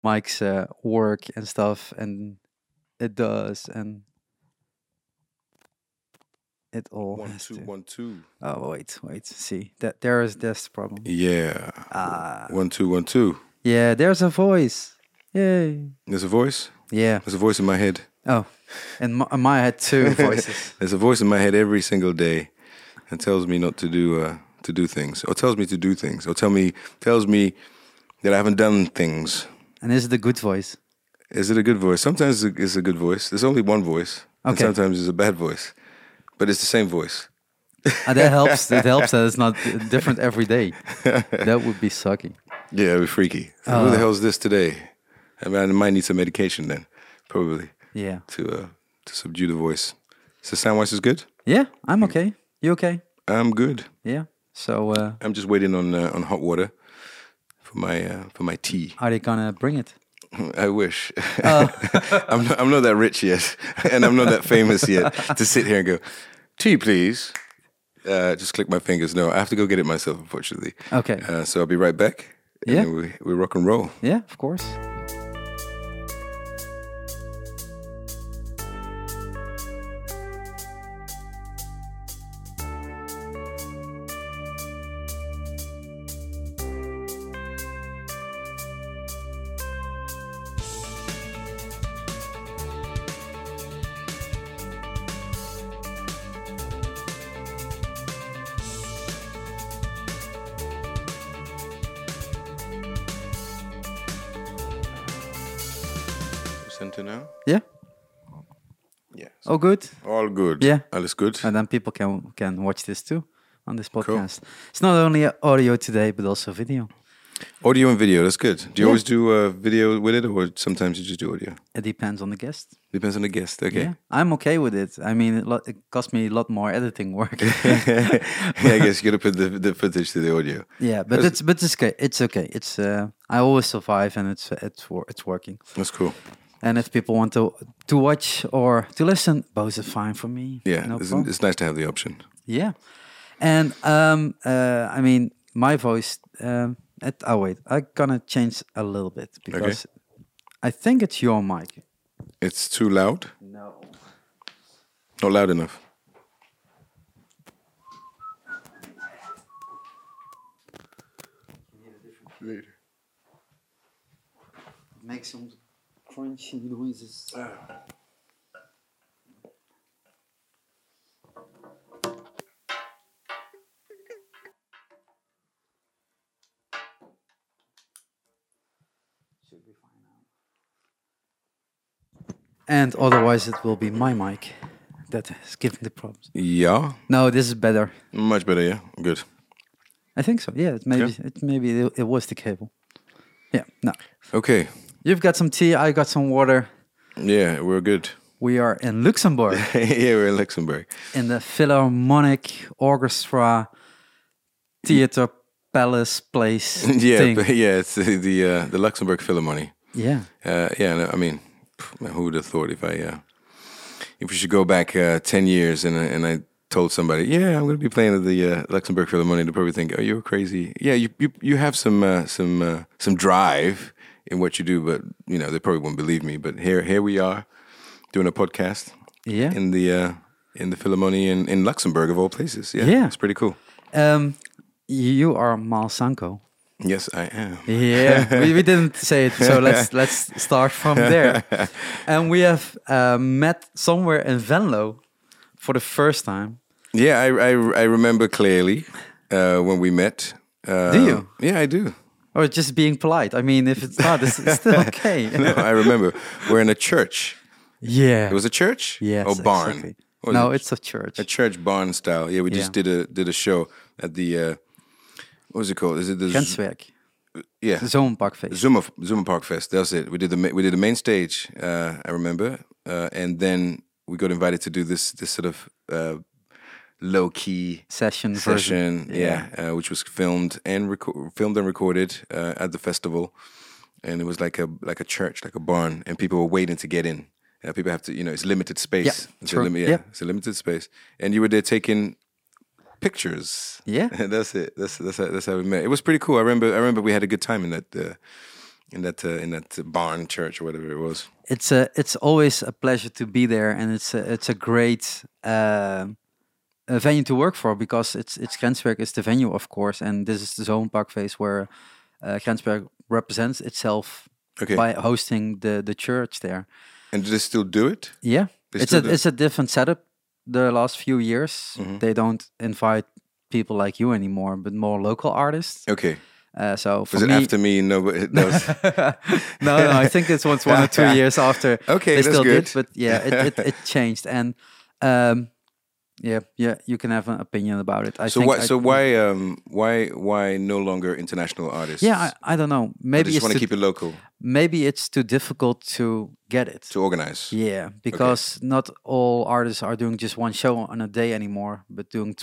Mike's work and stuff, and it does, and it all One, has two, to. 1, 2. Oh wait, see that there is this problem. Yeah. Ah, 1, 2, 1, 2. yeah, there's a voice. Yay. There's a voice. Yeah. There's a voice in my head. Oh, and my had two voices. There's a voice in my head every single day, and tells me not to do things, or tells me to do things, or tells me that I haven't done things. And is it a good voice? Is it a good voice? Sometimes it's a good voice. There's only one voice, and Okay. sometimes it's a bad voice, but it's the same voice. That helps. It helps that it's not different every day. That would be sucky. Yeah, it'd be freaky. Who the hell is this today? I mean, I might need some medication then, probably, Yeah. to subdue the voice. So sound wise is good. Yeah, I'm okay. You okay? I'm good. Yeah. So I'm just waiting on hot water for my tea. are they gonna bring it? I wish. I'm not that rich yet, and I'm not that famous yet to sit here and go, tea, please. Just click my fingers. No, I have to go get it myself, unfortunately. Okay. So I'll be right back. And Yeah. then we rock and roll. Yeah, of course. Center now. Yeah. Yeah. Oh, good. All good. Yeah. Alles good. And then people can watch this too on this podcast. It's not only audio today, but also video. Audio and video. That's good. Do you Yeah. always do video with it, or sometimes you just do audio? It depends on the guest. Depends on the guest. Okay. Yeah, I'm okay with it. I mean, it costs me a lot more editing work. Yeah, I guess you gotta put the footage to the audio. Yeah, but it's okay. It's okay. It's I always survive, and it's working. That's cool. And if people want to watch or to listen, both are fine for me. Yeah, no it's, problem. it's nice to have the option. Yeah, and I mean, my voice. Wait, I'm gonna change a little bit because I think it's your mic. It's too loud. No. Not loud enough. Later. Make some crunchy noises. Should be fine now. And otherwise, it will be my mic that is giving the problems. Yeah, No, this is better. much better. Yeah, good. I think so. Yeah, it was the cable. Yeah. No, Okay. you've got some tea. I got some water. Yeah, we're good. We are in Luxembourg Yeah, we're in Luxembourg. in the Philharmonic Orchestra Theater Palace Place Yeah, thing. yeah. It's the Luxembourg Philharmonic. Yeah. Yeah. No, I mean, who would have thought if we should go back 10 years and I told somebody, yeah, I'm going to be playing at the Luxembourg Philharmonic, they'd probably think, oh, you're crazy. Yeah, you have some drive in what you do, but they probably won't believe me. But here we are doing a podcast Yeah. in the Philharmonic in Luxembourg of all places. Yeah, Yeah. it's pretty cool. You are Mal Sanko. Yes, I am. Yeah, we didn't say it, so let's start from there. And we have met somewhere in Venlo for the first time. Yeah, I remember clearly when we met. Do you? Yeah, I do. Or just being polite. I mean, if it's not, it's still okay. No, I remember. We're in a church. Yeah. It was a church? Yes. Or barn? Exactly. What was No, it? it's a church. A church barn style. Yeah, we just did a show at the what was it called? Is it the Grenswerk. yeah Zomerparkfeest. Zuma Park Fest? That's it. We did the main stage. I remember, and then we got invited to do this sort of low key Session. session. version. Yeah, which was filmed and recorded at the festival, and it was like a church, like a barn, and people were waiting to get in. People have to, it's limited space. Yeah, It's true. yeah, Yep. it's a limited space, and you were there taking pictures. Yeah. That's it. That's how we met. It was pretty cool. I remember we had a good time in in that barn church or whatever it was. It's always a pleasure to be there, and it's a great a venue to work for, because it's Grensberg is the venue, of course, and this is the Zomerparkfeest where Grensberg represents itself Okay. by hosting the church there. And do they still do it? Yeah, They it's still do? it's a different setup. The last few years, Mhm. they don't invite people like you anymore, but more local artists. Okay. So for Was it me, after me? Nobody. No. no, I think it was 1 or 2 years after. Okay, They that's still good. did, but yeah, it changed, and yeah, you can have an opinion about it. I So think why? Why no longer international artists? yeah, I don't know. Or Maybe they just it's want to too, keep it local maybe it's too difficult to get it. to organize. Yeah, because not all artists are doing just one show on a day anymore, but doing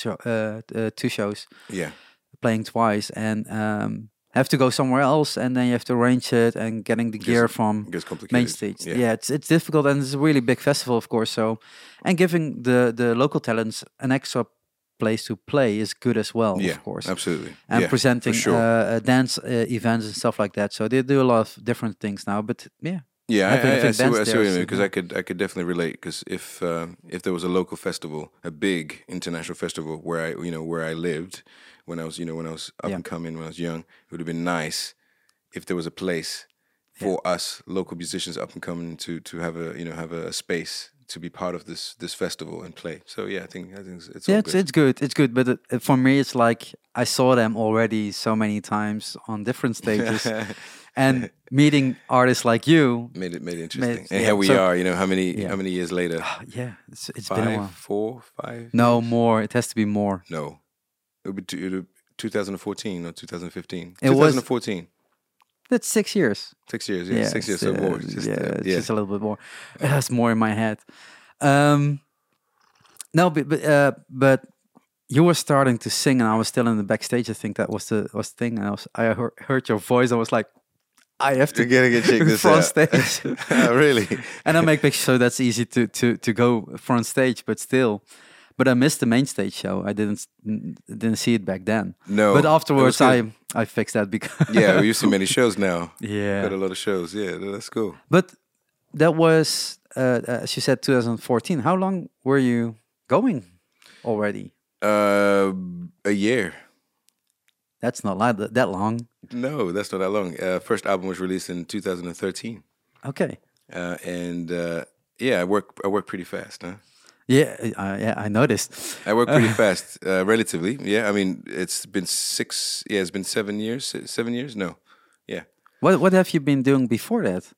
two shows, Yeah. playing twice, and have to go somewhere else, and then you have to arrange it and getting the gear from It gets complicated. main stage. Yeah, it's difficult, and it's a really big festival, of course. So, and giving the local talents an extra place to play is good as well, Yeah, of course. absolutely. And Yeah, presenting for sure. dance events and stuff like that. So they do a lot of different things now. But yeah, Yeah, having- I having see bands what there you is, mean, because I could definitely relate. Because if there was a local festival, a big international festival where I lived when I was up Yeah. and coming when I was young, it would have been nice if there was a place for us local musicians up and coming to have a space to be part of this festival and play. So yeah, I think it's all yeah, good. it's good. It's good. But for me, it's like I saw them already so many times on different stages, and meeting artists like you. made it interesting. And yeah, here we so- are. How Yeah. many years later? Yeah, it's been a 5, while. 4, 5. No years? more. It has to be more. No, it would be 2014 or 2015. It was- 2014. That's 6 years. 6 years. Yeah, 6 years. So more. Just, it's yeah. just a little bit more. It has more in my head. No, but you were starting to sing, and I was still in the backstage. I think that was the thing. And I heard your voice. I was like, I have to You're gonna check this front out. stage. Really? And I make pictures, so that's easy to go front stage. But still, but I missed the main stage show. I didn't see it back then. No. But afterwards, That was I fixed that because Yeah, we used to many shows now. yeah. Got a lot of shows. Yeah, that's cool. But that was, as you said, 2014. How long were you going already? A year. That's not like that long. No, that's not that long. First album was released in 2013. Okay. And yeah, I work pretty fast, huh? Yeah, I noticed. I work pretty fast, relatively. Yeah, I mean, it's been 7 years. 7 years? No, yeah. What have you been doing before that?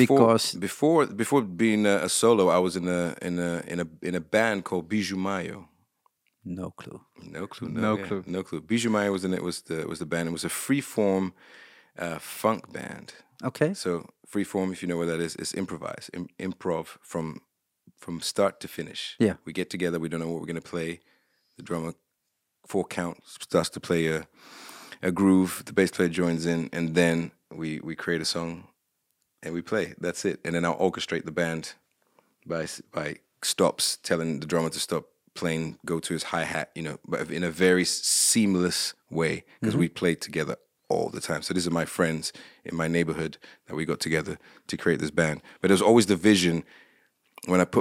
Before being a solo, I was in a band called Bijou Mayo. No clue. No clue. No clue. No clue. Bijou Mayo was the band. It was a freeform funk band. Okay. So freeform, if you know what that is improv from start to finish. Yeah. We get together. We don't know what we're gonna play. The drummer 4 count starts to play a groove. The bass player joins in, and then we create a song, and we play. That's it. And then I'll orchestrate the band by stops, telling the drummer to stop playing, go to his hi-hat, but in a very seamless way, because we played together all the time. So these are my friends in my neighborhood that we got together to create this band. But there's always the vision when I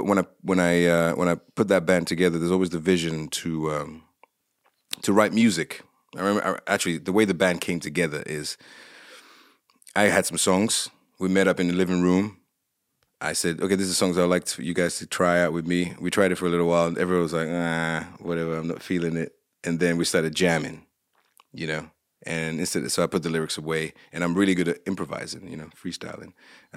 put that band together. There's always the vision to write music. I remember actually the way the band came together is I had some songs. We met up in the living room. I said, okay, these are songs I'd like you guys to try out with me. We tried it for a little while, and everyone was like, whatever, I'm not feeling it. And then we started jamming, and so I put the lyrics away, and I'm really good at improvising, freestyling.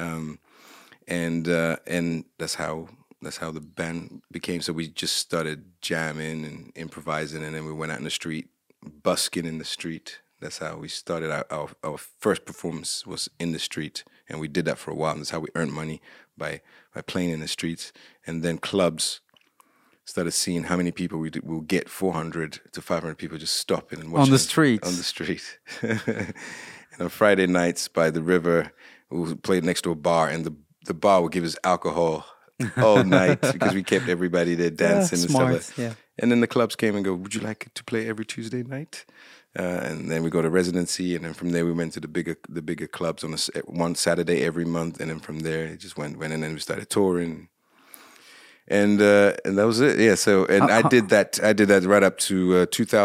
And that's how the band became. So we just started jamming and improvising, and then we went out in the street, busking in the street. That's how we started. Our first performance was in the street, and we did that for a while. And that's how we earned money, by playing in the streets. And then clubs started seeing how many people we'll get 400 to 500 people just stopping and watching On the us streets. on the street. And on Friday nights by the river, we played next to a bar, and the bar would give us alcohol all night because we kept everybody there dancing and stuff smart, like that. yeah. And then the clubs came and go, would you like to play every Tuesday night? and then we go to residency, and then from there we went to the bigger clubs on one Saturday every month, and then from there it just went, and then we started touring, and that was it. Yeah. So and I did that right up to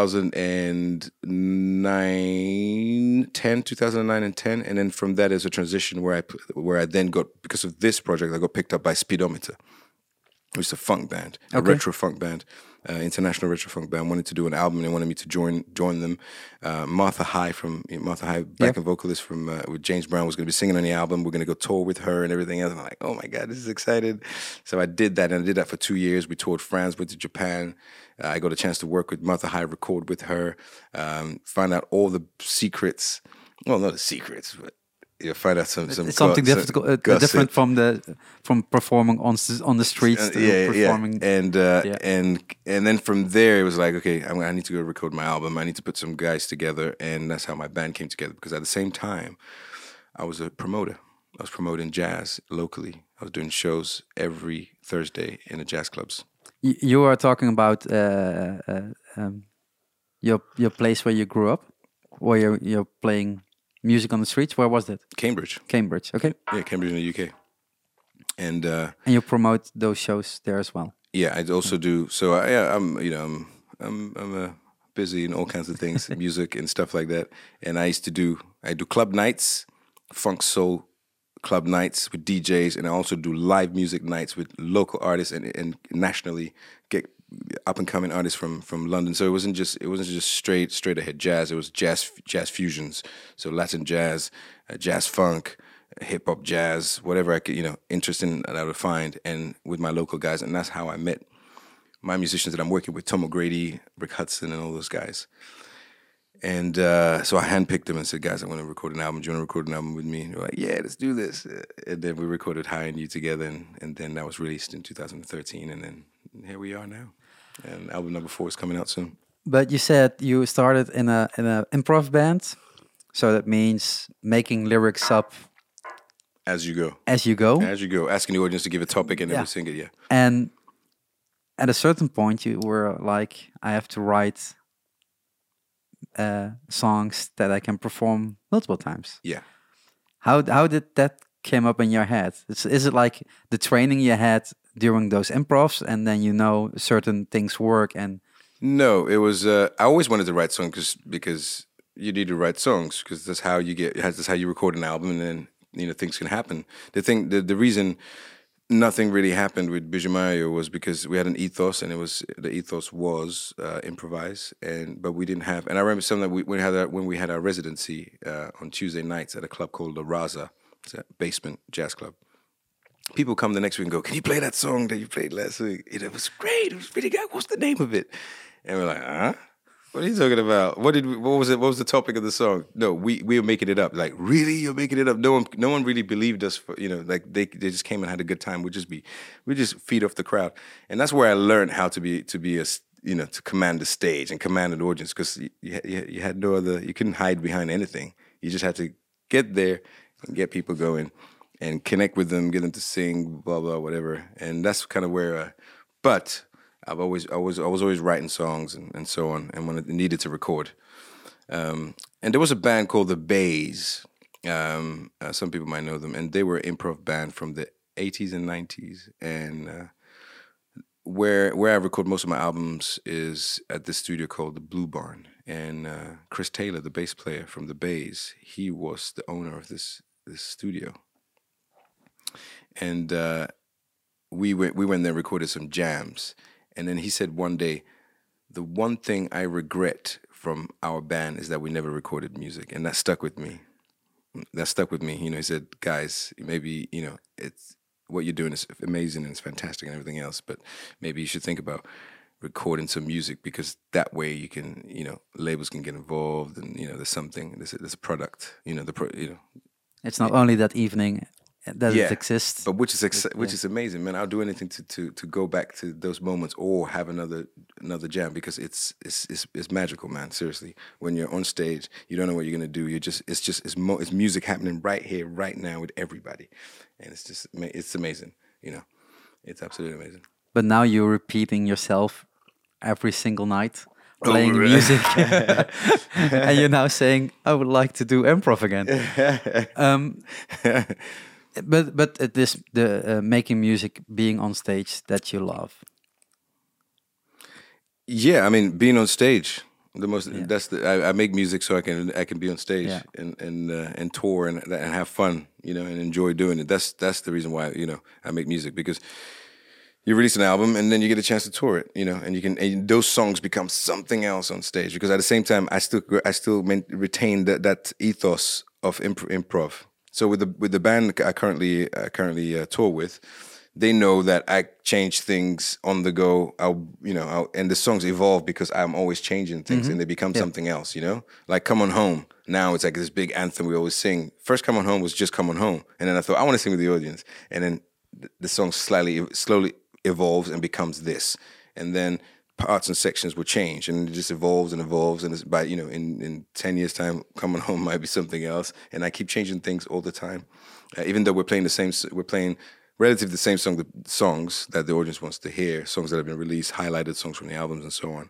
2009 and 10, and then from that is a transition where I then got, because of this project, I got picked up by Speedometer, which is a funk band, a retro funk band, international retro funk band. Wanted to do an album. They wanted me to join them. Martha High, backing vocalist from with James Brown, was going to be singing on the album. We're going to go tour with her and everything else. And I'm like, oh my God, this is excited. So I did that, and I did that for 2 years. We toured France, went to Japan. I got a chance to work with Martha High, record with her, find out all the secrets. Well, not the secrets, but find out something different from performing on the streets to performing. And then from there it was like, okay, I need to go record my album. I need to put some guys together, and that's how my band came together. Because at the same time, I was a promoter. I was promoting jazz locally. I was doing shows every Thursday in the jazz clubs. You are talking about your place where you grew up, where you're playing music on the streets. Where was that? Cambridge. Cambridge. Okay. Yeah, Cambridge in the UK. And you promote those shows there as well. Yeah, I also do. So I'm busy in all kinds of things, music and stuff like that. And I do club nights, funk soul club nights with DJs, and I also do live music nights with local artists and nationally get up and coming artists from London. So it wasn't just straight ahead jazz. It was jazz fusions. So Latin jazz, jazz funk, hip hop jazz, whatever I could, interesting that I would find, and with my local guys. And that's how I met my musicians that I'm working with, Tom O'Grady, Rick Hudson, and all those guys. And so I handpicked them and said, guys, I want to record an album. Do you want to record an album with me? And they're like, yeah, let's do this. And then we recorded High and You together, and then that was released in 2013, and then here we are now. And album number 4 is coming out soon. But you said you started in a improv band, so that means making lyrics up as you go. As you go, asking the audience to give a topic and then we sing it. Yeah. And at a certain point, you were like, I have to write songs that I can perform multiple times. Yeah. How did that came up in your head? Is it like the training you had during those improvs, and then certain things work? And no, it was I always wanted to write songs because you need to write songs, because that's how you record an album, and then things can happen. The reason nothing really happened with Bijomayo was because we had an ethos, and the ethos was improvise, but we didn't have. And I remember something that when we had our residency on Tuesday nights at a club called La Raza. It's a basement jazz club. People come the next week and go, can you play that song that you played last week? It was great. It was really good. What's the name of it? And we're like, huh? What are you talking about? What was it? What was the topic of the song? No, we were making it up. Like, really? You're making it up? No one really believed us for, like they just came and had a good time. We just feed off the crowd. And that's where I learned how to command the stage and command an audience, because you had no other, you couldn't hide behind anything. You just had to get there and get people going and connect with them, get them to sing, blah, blah, whatever. And that's kind of where, but I was always writing songs and so on, and when I needed to record. And there was a band called The Bays. Some people might know them, and they were an improv band from the 80s and 90s. And where I record most of my albums is at this studio called the Blue Barn. And Chris Taylor, the bass player from The Bays, he was the owner of this studio. And we went there and recorded some jams. And then he said one day, the one thing I regret from our band is that we never recorded music. And that stuck with me. He said, guys, maybe, it's what you're doing is amazing and it's fantastic and everything else, but maybe you should think about recording some music, because that way you can, labels can get involved, and, there's a product, It's not only that evening that it exists, but which is amazing, man. I'll do anything to go back to those moments or have another jam, because it's magical, man. Seriously, when you're on stage, you don't know what you're gonna do. It's music happening right here, right now with everybody, and it's amazing. It's absolutely amazing. But now you're repeating yourself every single night. playing really? music, and you're now saying, "I would like to do improv again." But it is the making music, being on stage that you love. Yeah, I mean, being on stage, the most Yeah. that's the I make music so I can be on stage Yeah. and tour and have fun, you know, and enjoy doing it. That's the reason why, you know, I make music, because you release an album and then you get a chance to tour it, you know, and you can, and those songs become something else on stage, because at the same time I still retain that ethos of improv. So with the band I currently tour with, they know that I change things on the go. And the songs evolve because I'm always changing things, and they become something else, you know? Like Come On Home. Now it's like this big anthem we always sing. First Come On Home was just Come On Home. And then I thought, I want to sing with the audience. And then the song slowly evolves and becomes this. And then parts and sections will change, and it just evolves and evolves. And it's by, you know, in 10 years' time, Come On Home might be something else. And I keep changing things all the time. Even though we're playing relatively the same songs that the audience wants to hear, songs that have been released, highlighted songs from the albums and so on.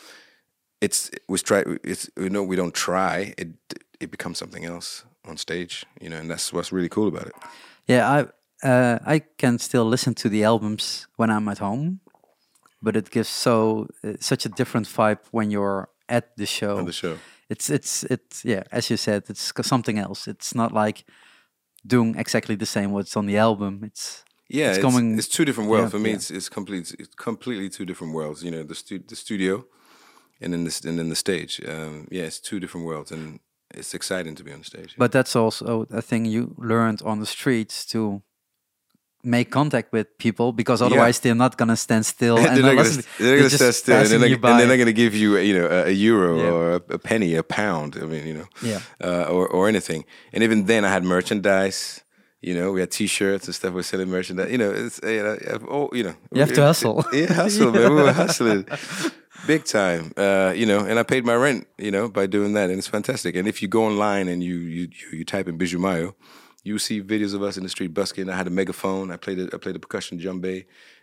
We don't try, it becomes something else on stage, you know, and that's what's really cool about it. Yeah, I can still listen to the albums when I'm at home, but it gives such a different vibe when you're at the show. On the show. It's yeah, as you said, it's something else. It's not like doing exactly the same what's on the album. It's two different worlds. Yeah, For me, yeah. it's completely two different worlds. You know, the studio, and then the stage. It's two different worlds, and it's exciting to be on stage. But that's also a thing you learned on the streets, to make contact with people, because otherwise they're not gonna stand still. And they're listen. gonna stand still, and passing you by. they're not gonna give you, you know, a euro Yeah. or a penny, a pound. I mean, you know, Yeah. or anything. And even then, I had merchandise. You know, we had T-shirts and stuff. We're selling merchandise. You know, it's you know, You have to hustle. Yeah, hustle, man. We were hustling big time. You know, and I paid my rent, you know, by doing that, and it's fantastic. And if you go online and you type in Bijou Mayo, you see videos of us in the street busking. I had a megaphone. I played a percussion djembe,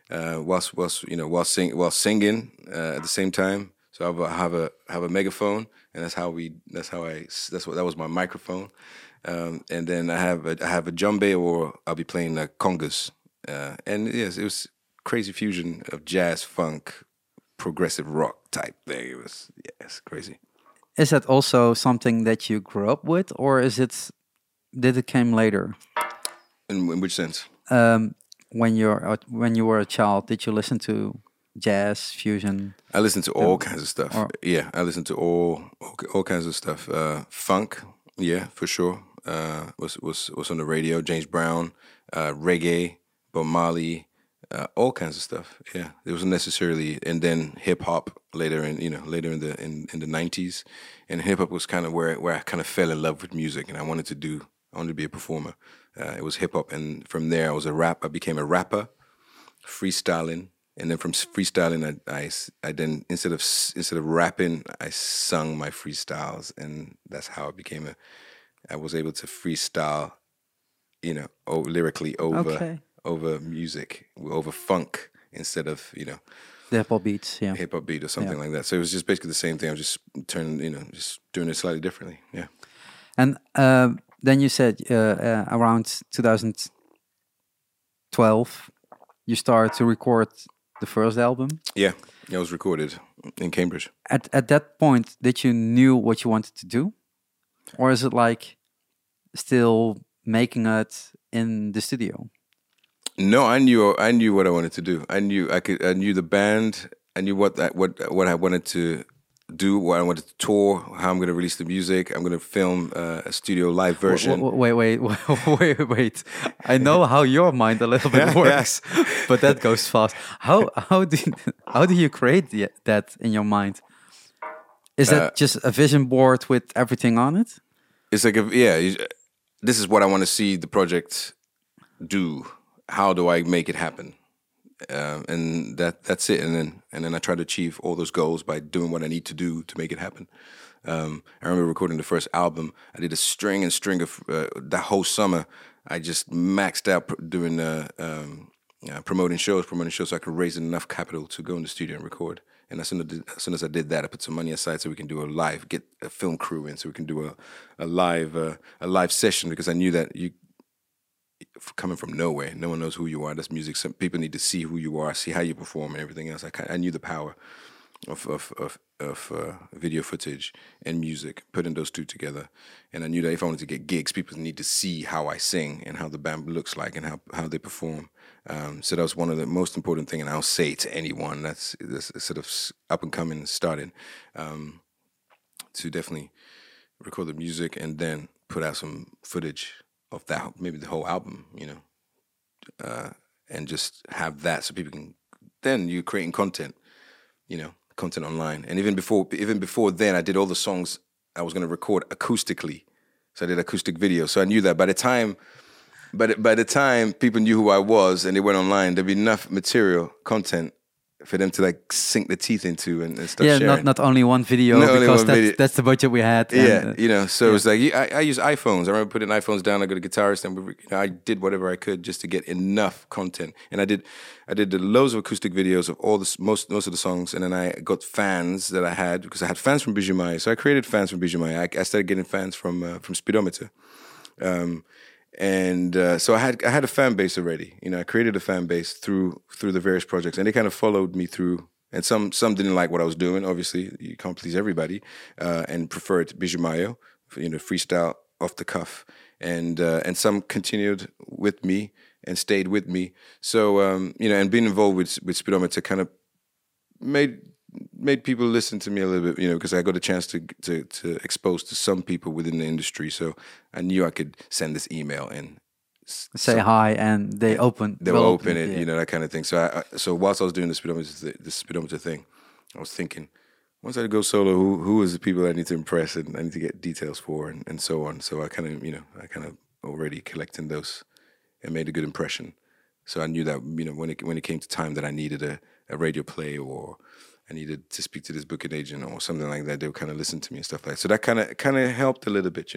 while singing at the same time. So I have a megaphone, and that was my microphone. And then I have a djembe, or I'll be playing congas. And yes, it was crazy fusion of jazz, funk, progressive rock type thing. It was, it's crazy. Is that also something that you grew up with, or did it came later? In which sense? When you were a child, did you listen to jazz, fusion? I listened to all kinds of stuff. Or- Yeah, I listened to all kinds of stuff. Funk, yeah, for sure. Was on the radio. James Brown, reggae, Bob Marley, all kinds of stuff. Yeah, it wasn't necessarily, and then hip hop later in the 90s, and hip hop was kind of where I kind of fell in love with music, and I wanted to be a performer. It was hip hop, and from there I became a rapper, freestyling. And then from freestyling, I then instead of rapping, I sung my freestyles, and that's how I was able to freestyle, you know, lyrically over music, over funk, instead of, you know, The hip hop beats, yeah. hip hop beat or something like that. So it was just basically the same thing. I was just just doing it slightly differently. Yeah. And then you said around 2012, you started to record the first album. Yeah, it was recorded in Cambridge. At that point, did you knew what you wanted to do, or is it like still making it in the studio? No, I knew what I wanted to do. I knew the band. I knew what I wanted to do, what I wanted to tour, how I'm going to release the music. I'm going to film a studio live version. Wait. I know how your mind a little bit works, but that goes fast. How do you create that in your mind? Is that just a vision board with everything on it? It's like, this is what I want to see the project do. How do I make it happen? And that's it. And then I try to achieve all those goals by doing what I need to do to make it happen. I remember recording the first album. I did a string of that whole summer. I just maxed out promoting shows so I could raise enough capital to go in the studio and record. And as soon as I did that, I put some money aside so we can do get a film crew in, so we can do a live session, because I knew that coming from nowhere, no one knows who you are. That's music. Some people need to see who you are, see how you perform, and everything else. I knew the power of video footage and music, putting those two together. And I knew that if I wanted to get gigs, people need to see how I sing and how the band looks like and how they perform. So that was one of the most important things, and I'll say to anyone that's sort of up and coming and starting, to definitely record the music and then put out some footage of that, maybe the whole album, and just have that so people can. Then you're creating content, content online. And even before then, I did all the songs I was going to record acoustically. So I did acoustic videos. So I knew that by the time people knew who I was and they went online, there'd be enough material, content, for them to like sink their teeth into and stuff. Yeah, sharing. not only one video, because that's the budget we had. Yeah, so it was like I use iPhones. I remember putting iPhones down. I got a guitarist, and I did whatever I could just to get enough content. And I did loads of acoustic videos of all most of the songs. And then I got fans that I had, because I had fans from Bijou Maya. So I created fans from Bijou Maya. I started getting fans from Speedometer. So I had a fan base already. I created a fan base through the various projects, and they kind of followed me through. And some didn't like what I was doing. Obviously, you can't please everybody, and preferred Bijou Mayo, freestyle off the cuff. And some continued with me and stayed with me. So and being involved with Speedometer kind of made people listen to me a little bit, because I got a chance to expose to some people within the industry. So I knew I could send this email and say hi, and they will open it, that kind of thing. So whilst I was doing the speedometer thing, I was thinking, once I go solo, who is the people I need to impress and I need to get details for, and so on. So I kind of already collecting those and made a good impression. So I knew that when it came to time that I needed a radio play, or I needed to speak to this booking agent or something like that, they would kind of listen to me and stuff like that. So that kind of helped a little bit,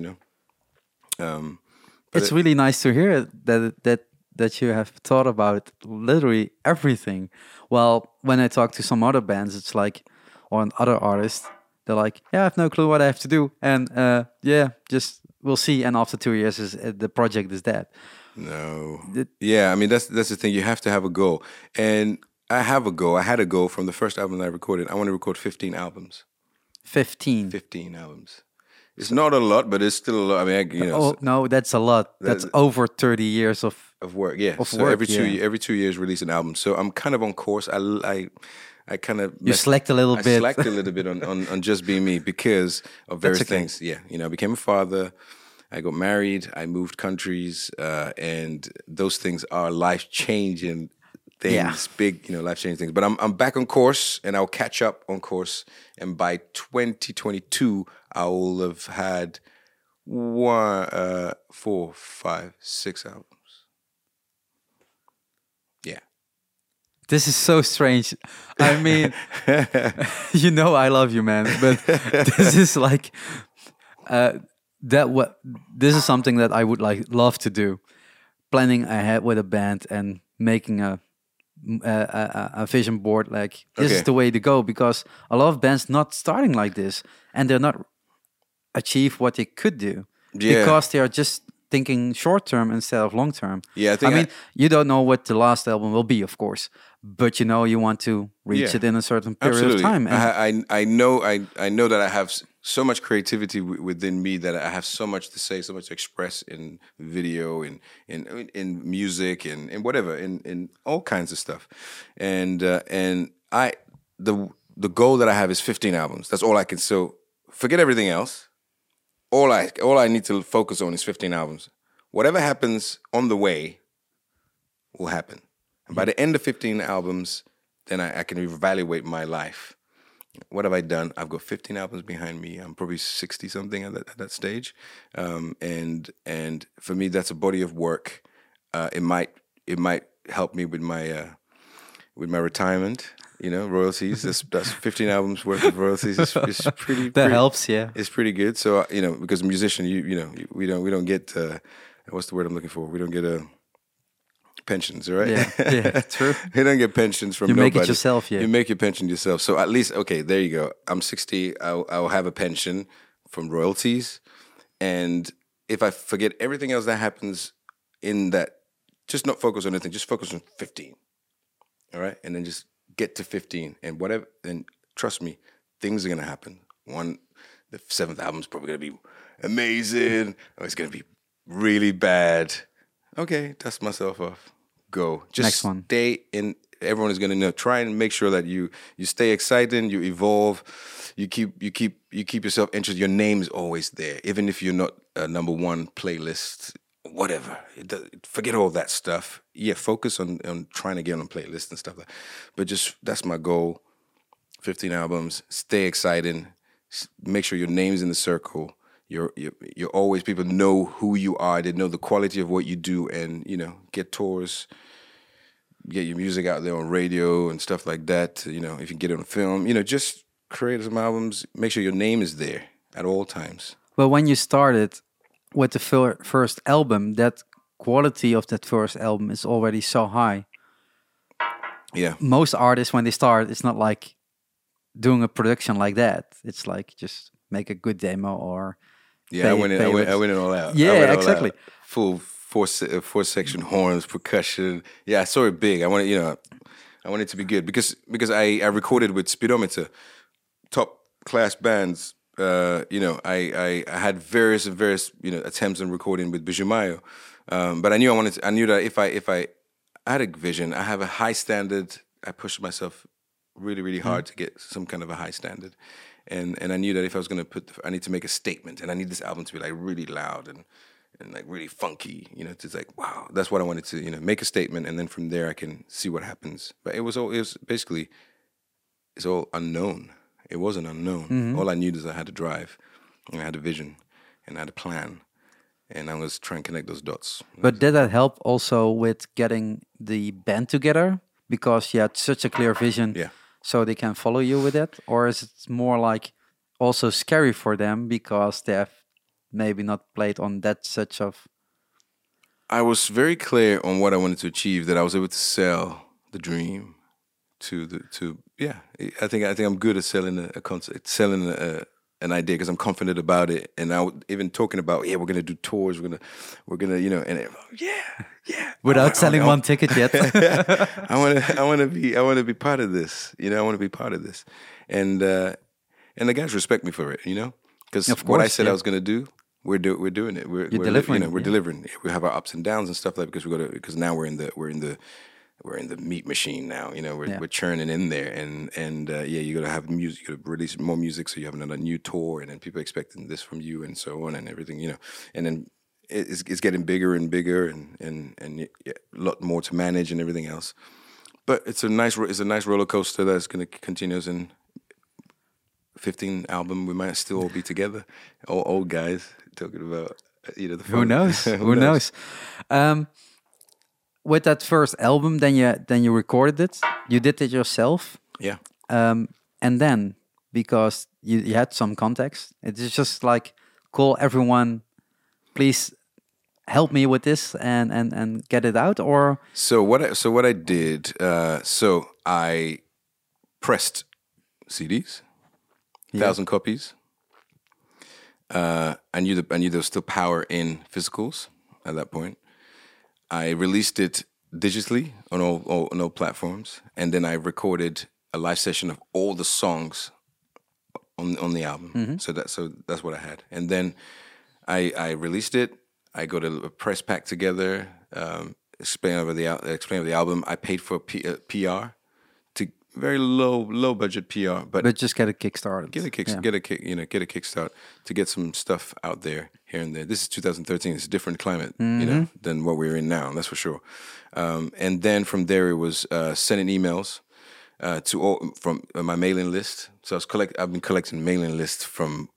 It's really nice to hear that you have thought about literally everything. Well, when I talk to some other bands, it's like, or other artists, they're like, yeah, I have no clue what I have to do, and just we'll see. And after 2 years, the project is dead. No. I mean, that's the thing. You have to have a goal. And I have a goal. I had a goal from the first album that I recorded. I want to record 15 albums. 15 albums. It's not a lot, but it's still a lot. I mean, no, that's a lot. That's over 30 years of work. Yeah. Every 2 years, release an album. So I'm kind of on course. I kind of slacked a little bit. I slacked a little bit on just being me because of various things. Yeah, I became a father. I got married. I moved countries, and those things are life-changing things, big, life-changing things. But I'm back on course, and I'll catch up on course. And by 2022, I will have had 1, 4, 5, 6 albums. Yeah. This is so strange. I mean, I love you, man. But this is like this is something that I would love to do. Planning ahead with a band and making a vision board. Like, this is the way to go, because a lot of bands not starting like this, and they're not achieve what they could do because they are just thinking short term instead of long term. Yeah, I mean, you don't know what the last album will be, of course, but you want to reach it in a certain period of time. And I know that I have so much creativity within me, that I have so much to say, so much to express in video, in music, and in whatever, in all kinds of stuff. And the goal that I have is 15 albums. That's all I can. So forget everything else. All I need to focus on is 15 albums. Whatever happens on the way will happen. And by the end of 15 albums, then I can evaluate my life. What have I done? I've got 15 albums behind me. I'm probably 60 something at that stage, and for me, that's a body of work. It might help me with my retirement. Royalties. That's 15 albums worth of royalties. Is pretty. Helps, yeah. It's pretty good. So because a musician, we don't get what's the word I'm looking for? We don't get a pensions, right? Yeah, true. You don't get pensions from You nobody. make it yourself, yeah. You make your pension yourself. So at least, okay, there you go. I'm 60. I'll have a pension from royalties, and if I forget everything else that happens in that, just not focus on anything. Just focus on 15. All right, and then just get to 15, and whatever. And trust me, things are gonna happen. The 7th album's probably gonna be amazing, or it's gonna be really bad. Okay, dust myself off. Go. Just Next one. Stay in. Everyone is gonna know. Try and make sure that you stay exciting. You evolve. You keep yourself interested. Your name's always there, even if you're not a number one playlist. Whatever. Forget all that stuff. Yeah, focus on trying to get on a playlist and stuff like that. But just that's my goal. 15 albums. Stay exciting. Make sure your name's in the circle. You're always, people know who you are. They know the quality of what you do, and get tours, get your music out there on radio and stuff like that. If you get it on film, just create some albums. Make sure your name is there at all times. Well, when you started with the first album, that quality of that first album is already so high. Yeah. Most artists, when they start, it's not like doing a production like that. It's like just make a good demo or I went it all out. Yeah, exactly. Full four section horns, percussion. Yeah, I saw it big. I wanted it to be good because I recorded with Speedometer, top class bands. I had various attempts on recording with Bijou Mayo, but I knew that if I had a vision, I have a high standard. I pushed myself really, really hard to get some kind of a high standard, and I knew that if I was going to I need to make a statement, and I need this album to be like really loud and like really funky. It's like, wow, that's what I wanted to make a statement, and then from there I can see what happens. But it's all unknown. It wasn't unknown. Mm-hmm. All I knew is I had to drive, and I had a vision, and I had a plan, and I was trying to connect those dots. But did that help also with getting the band together? Because you had such a clear vision, Yeah. so they can follow you with it? Or is it more like also scary for them because they have maybe not played on that such of... I was very clear on what I wanted to achieve, that I was able to sell the dream I think I'm good at selling a concept, selling an idea, because I'm confident about it, and even talking about we're gonna do tours, we're gonna Without selling one ticket yet. I want to be part of this, I want to be part of this, and the guys respect me for it, because what I said I was gonna do, we're doing it. We're delivering. We're delivering. We have our ups and downs and stuff like that, because now we're in the meat machine now. We're churning in there, and you got to have music. You got to release more music, so you have another new tour, and then people expecting this from you, and so on, and everything. And then it's getting bigger and bigger, and a lot more to manage and everything else. But it's a nice roller coaster that's going to continue. In 15 album, we might still all be together, all old guys talking about the fun. Who knows? Who knows? With that first album, then you recorded it. You did it yourself. Yeah. And then, because you had some context, it's just like, call everyone, please help me with this and get it out. Or so what I did. So I pressed CDs, 1,000 copies. I knew there was still power in physicals at that point. I released it digitally on all platforms, and then I recorded a live session of all the songs on the album. Mm-hmm. So that's what I had, and then I released it. I got a press pack together, explain over the album. I paid for PR, to very low budget PR, but just get a kickstart. Get a kickstart to get some stuff out there here and there. This is 2013. It's a different climate, than what we're in now. That's for sure. And then from there, it was sending emails to all from my mailing list. So I've been collecting mailing lists from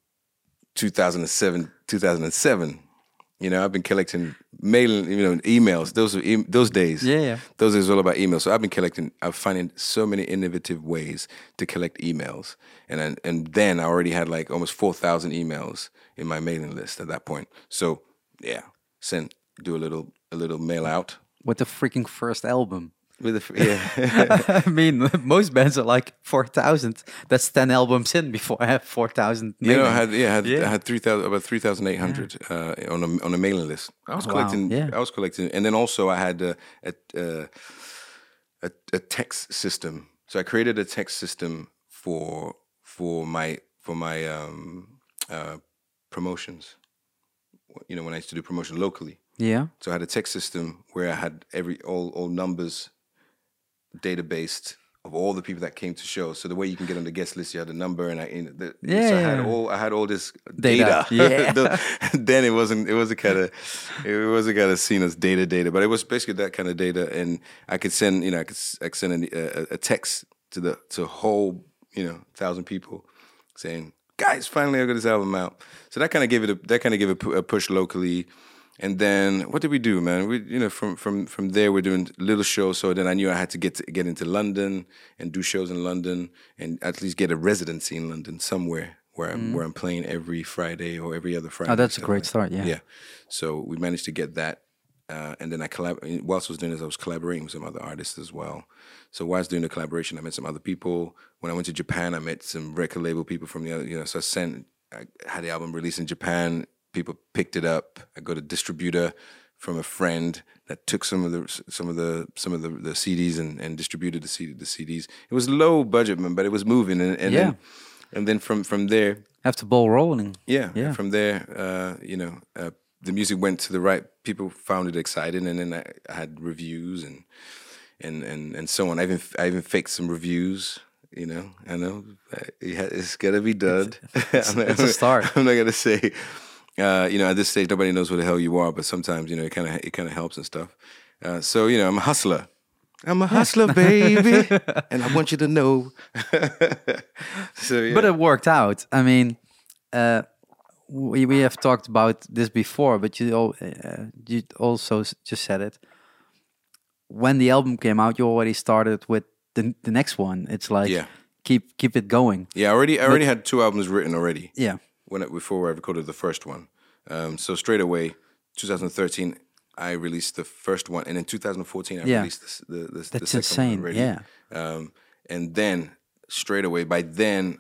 2007. I've been collecting mailing, emails. Those days. Yeah. Those days all about emails. So I'm finding so many innovative ways to collect emails. And then I already had like almost 4,000 emails in my mailing list at that point. So yeah, do a little mail out with the freaking first album. With yeah. I mean, most bands are like 4,000. That's 10 albums in before I have 4,000. You know, I mailing. had 3,000, about 3,800 on a mailing list. I was Wow, collecting. yeah. I was collecting, and then also I had a text system. So I created a text system for my promotions. You know, when I used to do promotion locally. Yeah. So I had a text system where I had all numbers databased of all the people that came to shows. So the way you can get on the guest list, you had a number, and so I had all this data. Yeah. Then it wasn't kind of seen as data, but it was basically that kind of data, and I could send I could send a text to a whole 1,000 people saying, guys, finally I got this album out. So that kind of gave it a push locally. And then what did we do, man? We from there we're doing little shows. So then I knew I had to get into London and do shows in London and at least get a residency in London somewhere where I'm playing every Friday or every other Friday. Oh, that's a great start. Yeah. Yeah. So we managed to get that. And then whilst I was doing this, I was collaborating with some other artists as well. So while I was doing the collaboration, I met some other people. When I went to Japan, I met some record label people from the other, so I had the album released in Japan. People picked it up. I got a distributor from a friend that took some of the CDs and distributed the CDs. It was low budget, man, but it was moving. And then from there, Have the ball rolling. yeah. From there, the music went to the right. People found it exciting, and then I had reviews and so on. I even faked some reviews. I know it's gotta be done. It's a start. I'm not gonna say. At this stage, nobody knows who the hell you are, but sometimes it kind of helps and stuff. So I'm a hustler. I'm a hustler, baby, and I want you to know. So yeah. But it worked out. I mean, we have talked about this before, but you also just said it. When the album came out, you already started with the next one. It's like keep it going. Yeah, I already had 2 albums written already. Yeah. Before I recorded the first one. So straight away, 2013, I released the first one, and in 2014, I released the second insane. one already. Yeah. And then straight away, by then,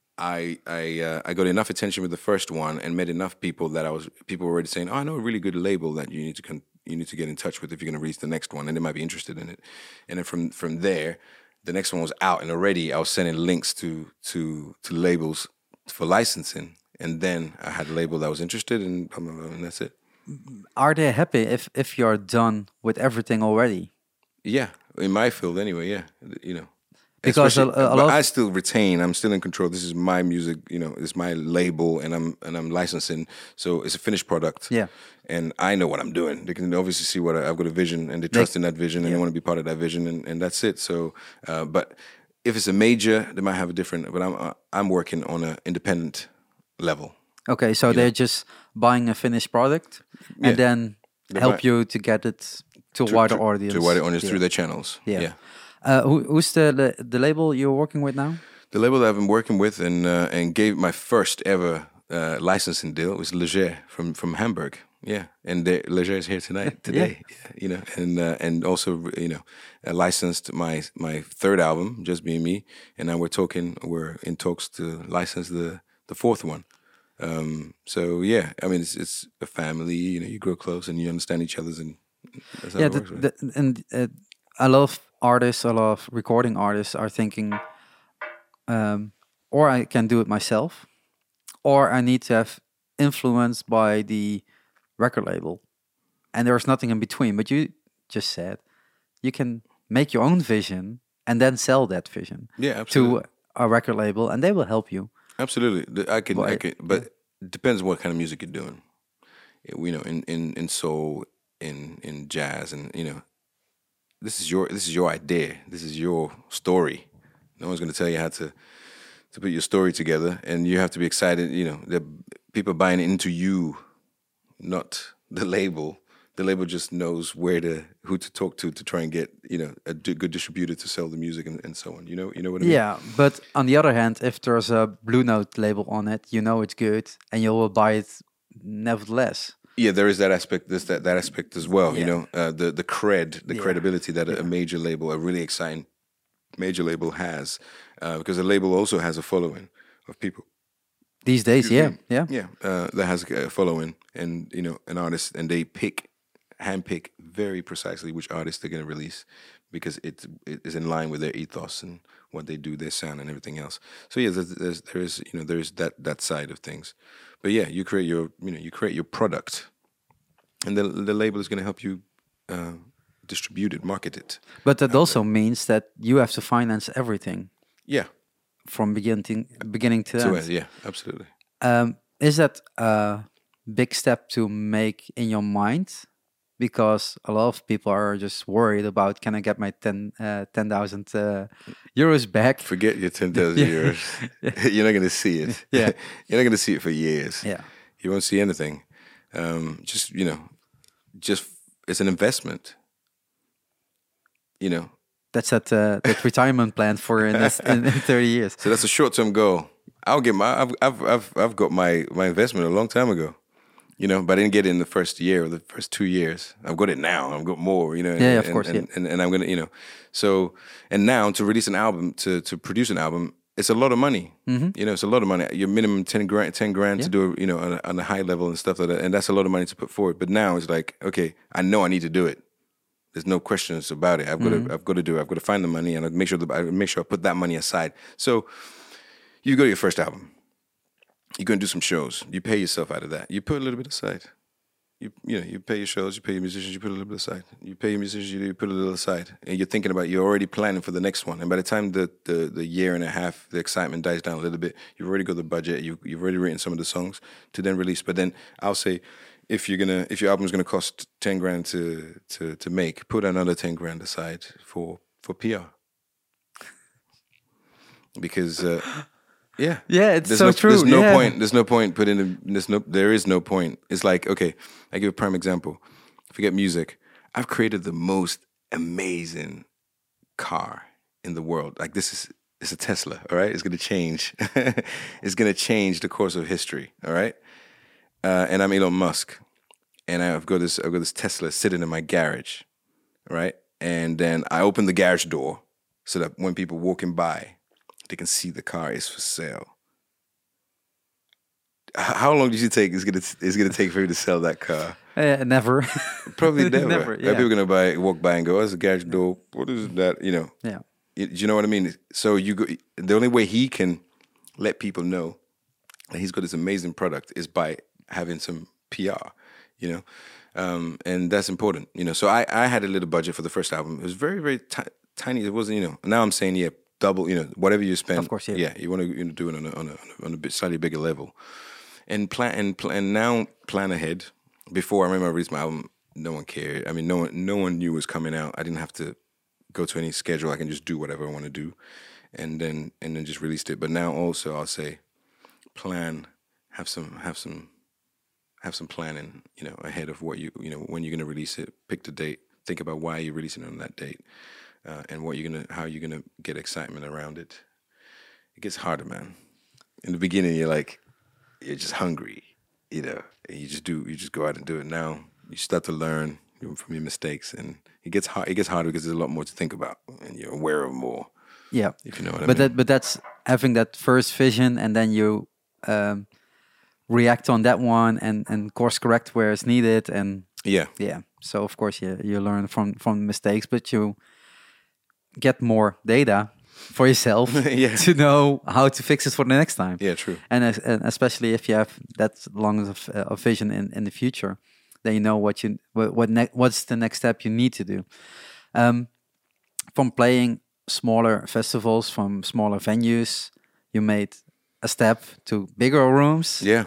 I got enough attention with the first one and met enough people that people were already saying, "Oh, I know a really good label that you need to get in touch with if you're going to release the next one, and they might be interested in it." And then from there, the next one was out, and already I was sending links to labels for licensing. And then I had a label that was interested, and that's it. Are they happy if you're done with everything already? Yeah, in my field anyway. Yeah, Because but I still retain. I'm still in control. This is my music. It's my label, and I'm licensing. So it's a finished product. Yeah, and I know what I'm doing. They can obviously see what I've got a vision, and they trust in that vision, and they want to be part of that vision, and that's it. So, but if it's a major, they might have a different. But I'm working on an independent level. Okay, so they're just buying a finished product and then help you to get it to a wider audience. To a wider audience through their channels. Yeah. Who's the label you're working with now? The label that I've been working with and gave my first ever licensing deal was Leger from Hamburg. Yeah, and Leger is here today. Yeah. And also licensed my third album, Just Being Me, and now we're in talks to license the fourth one. So yeah, I mean it's a family. You grow close and you understand each other's, and that's how it works. Right? And a lot of artists, a lot of recording artists are thinking, or I can do it myself, or I need to have influence by the record label, and there's nothing in between. But you just said you can make your own vision and then sell that vision to a record label, and they will help you. Absolutely, I can, but it depends on what kind of music you're doing. In soul, in jazz, and this is your idea. This is your story. No one's going to tell you how to put your story together, and you have to be excited. The people buying into you, not the label. The label just knows who to talk to try and get a good distributor to sell the music and so on. You know what I mean? Yeah, but on the other hand, if there's a Blue Note label on it, it's good, and you will buy it nevertheless. Yeah, there is that aspect. There's that aspect as well. You Yeah. know, the Yeah. credibility that a Yeah. major label, a really exciting major label has, because a label also has a following of people. These days, Excuse yeah, me. yeah. Yeah, that has a following, and you know, an artist, and they handpick very precisely which artist they're going to release because it is in line with their ethos and what they do, their sound, and everything else. So yeah, there's that side of things. But yeah, you create your product, and the label is going to help you distribute it, market it. But that also means that you have to finance everything Yeah, from beginning to so end. yeah, absolutely. Is that a big step to make in your mind? Because a lot of people are just worried about, can I get my 10,000 euros back? Forget your 10,000 Yeah. euros. You're not going to see it. Yeah. You're not going to see it for years. Yeah. You won't see anything. Just it's an investment. You know, That's that retirement plan for in 30 years. so that's a short-term goal. I've got my investment a long time ago. You know, but I didn't get it in the first year or the first 2 years. I've got it now. I've got more. You know. Yeah, of course, And I'm gonna, so and now to release an album, to produce an album, it's a lot of money. You know, it's a lot of money. Your minimum 10 grand to do, on a high level and stuff like that, and that's a lot of money to put forward. But now it's like, okay, I know I need to do it. There's no questions about it. I've got to do it. I've got to find the money, and I make sure I put that money aside. So you go to your first album. You're going to do some shows. You pay yourself out of that. You put a little bit aside. You pay your shows, you pay your musicians, you put a little bit aside. You pay your musicians, you put a little aside. And you're thinking about, you're already planning for the next one. And by the time the year and a half, the excitement dies down a little bit, you've already got the budget, you've already written some of the songs to then release. But then I'll say, if your album's gonna cost 10 grand to make, put another 10 grand aside for PR. Because yeah, Yeah, it's so true. There's no Yeah. point. There's no point putting in. There is no point. It's like, okay, I give a prime example. Forget music. I've created the most amazing car in the world. Like it's a Tesla. All right, it's gonna change. It's gonna change the course of history. All right, and I'm Elon Musk, and I've got this Tesla sitting in my garage. All right, and then I open the garage door so that when people walking by, they can see the car is for sale. How long do you think it's gonna take for you to sell that car? Never. Probably never. Never, yeah. People are gonna walk by and go, "Oh, it's a garage door. What is that?" You know. Yeah. You know what I mean? So the only way he can let people know that he's got this amazing product is by having some PR. You know, and that's important. You know, so I had a little budget for the first album. It was very very tiny. It wasn't. You know. Now I'm saying double. You know, whatever you spend. Of course, yeah. Yeah, you want to do it on a bit slightly bigger level. And now plan ahead. Before I remember I released my album, no one cared. I mean, no one knew it was coming out. I didn't have to go to any schedule. I can just do whatever I want to do, and then just released it. But now also I'll say, have some planning. You know, ahead of what when you're gonna release it. Pick the date. Think about why you're releasing it on that date, and how you're gonna get excitement around it. It gets harder, man. In the beginning, you're just hungry, and you just go out and do it. Now you start to learn from your mistakes, and it gets hard. It gets harder because there's a lot more to think about, and you're aware of more. Yeah. If you know what I mean. But that's having that first vision, and then you react on that one, and course correct where it's needed, and Yeah. So of course you learn from mistakes, but you get more data for yourself Yeah. to know how to fix it for the next time. Yeah, true. And especially if you have that long of vision in the future, then you know what's the next step you need to do. From playing smaller festivals, from smaller venues, you made a step to bigger rooms. Yeah.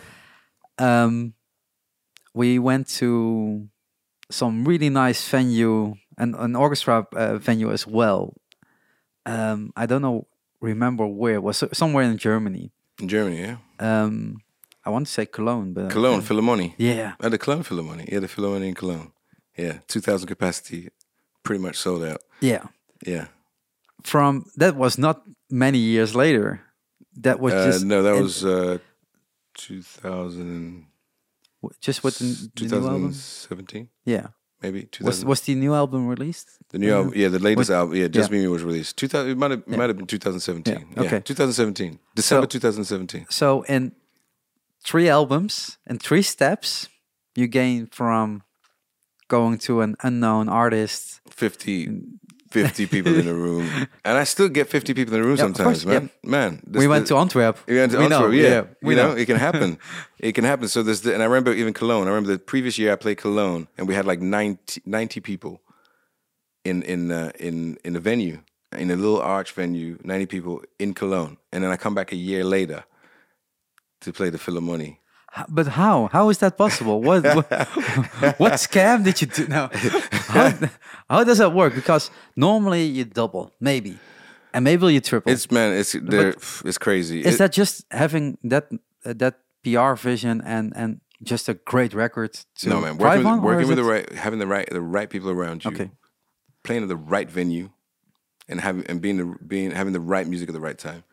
We went to some really nice venue and an orchestra venue as well. I don't remember where it was, somewhere in Germany. In Germany, yeah. I want to say Cologne, but Cologne, Philharmonie. Yeah. The Cologne Philharmonie. Yeah, the Philharmonie in Cologne. Yeah, 2,000 capacity, pretty much sold out. Yeah. Yeah. That was not many years later. That was just no, that was 2000. Just with the new album? 2017, Yeah. maybe 2000. Was the new album released? The new album, yeah, the latest album, yeah, Just yeah. Me was released. 2000, it might have been 2017. Yeah, okay. 2017, December 2017. So in 3 albums and 3 steps, you gain from going to an unknown artist 50 people in a room, and I still get 50 people in a room Yeah, of sometimes, course, man. Man, we went to Antwerp. We went to We Antwerp, know, yeah. we You know, know. it can happen. It can happen. So and I remember even Cologne. I remember the previous year I played Cologne, and we had like 90 people in a venue, in a little arch venue, 90 people in Cologne, and then I come back a year later to play the Philharmonie. But how? How is that possible? What scam did you do? No. How does that work? Because normally you double, maybe, and maybe you triple. It's crazy. Is that just having that PR vision and just a great record to no, man. drive on, Working with having the right people around you, Okay. playing at the right venue, and having the right music at the right time.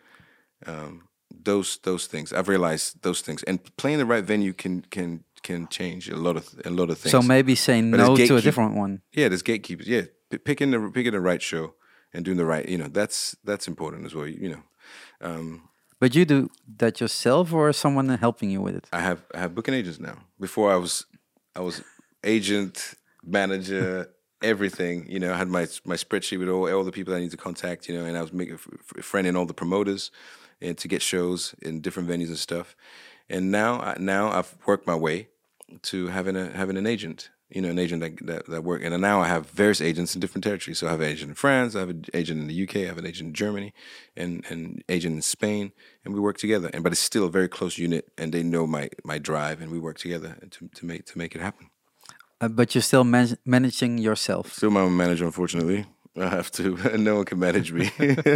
Those things I've realized, those things, and playing the right venue can change a lot of things. So maybe saying But no there's to a different one. Yeah, there's gatekeepers. Yeah, picking the right show and doing the right. That's important as well. But you do that yourself, or is someone helping you with it? I have booking agents now. Before I was agent, manager, everything. I had my spreadsheet with all the people I need to contact. And I was making a friend in all the promoters, and to get shows in different venues and stuff. And now I've worked my way to having an agent. An agent that work. And now I have various agents in different territories. So I have an agent in France, I have an agent in the UK, I have an agent in Germany, and an agent in Spain, and we work together. But it's still a very close unit, and they know my drive, and we work together to make it happen. But you're still managing yourself. Still my own manager, unfortunately. I have to. No one can manage me.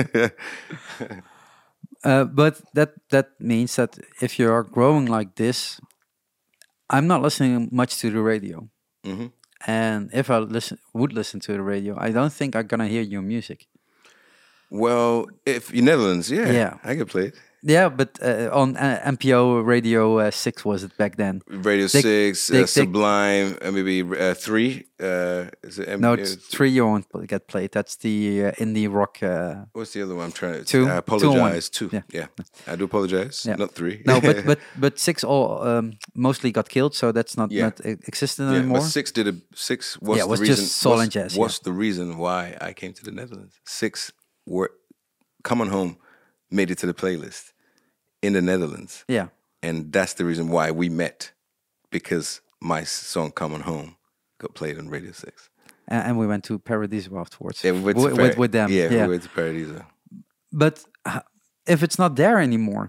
But that means that if you are growing like this, I'm not listening much to the radio. Mm-hmm. And if I would listen to the radio, I don't think I'm gonna hear your music. Well, if you're Netherlands, Yeah. I could play it. Yeah, but on NPO Radio 6 was it back then? Radio 6, Sublime, maybe 3. Is it No, it's 3 you won't get played. That's the indie rock. What's the other one? I'm trying to. 2. I apologize. 2. 2. Yeah. I do apologize. Yeah. Not 3. No, but 6 all mostly got killed, so that's not existent anymore. But 6 was it was the just reason. soul and jazz. Was the reason why I came to the Netherlands. 6 were Come On Home made it to the playlist in the Netherlands. Yeah. And that's the reason why we met, because my song Come On Home got played on Radio 6. And we went to Paradiso afterwards. Yeah, with them. Yeah, we went to Paradiso. But if it's not there anymore,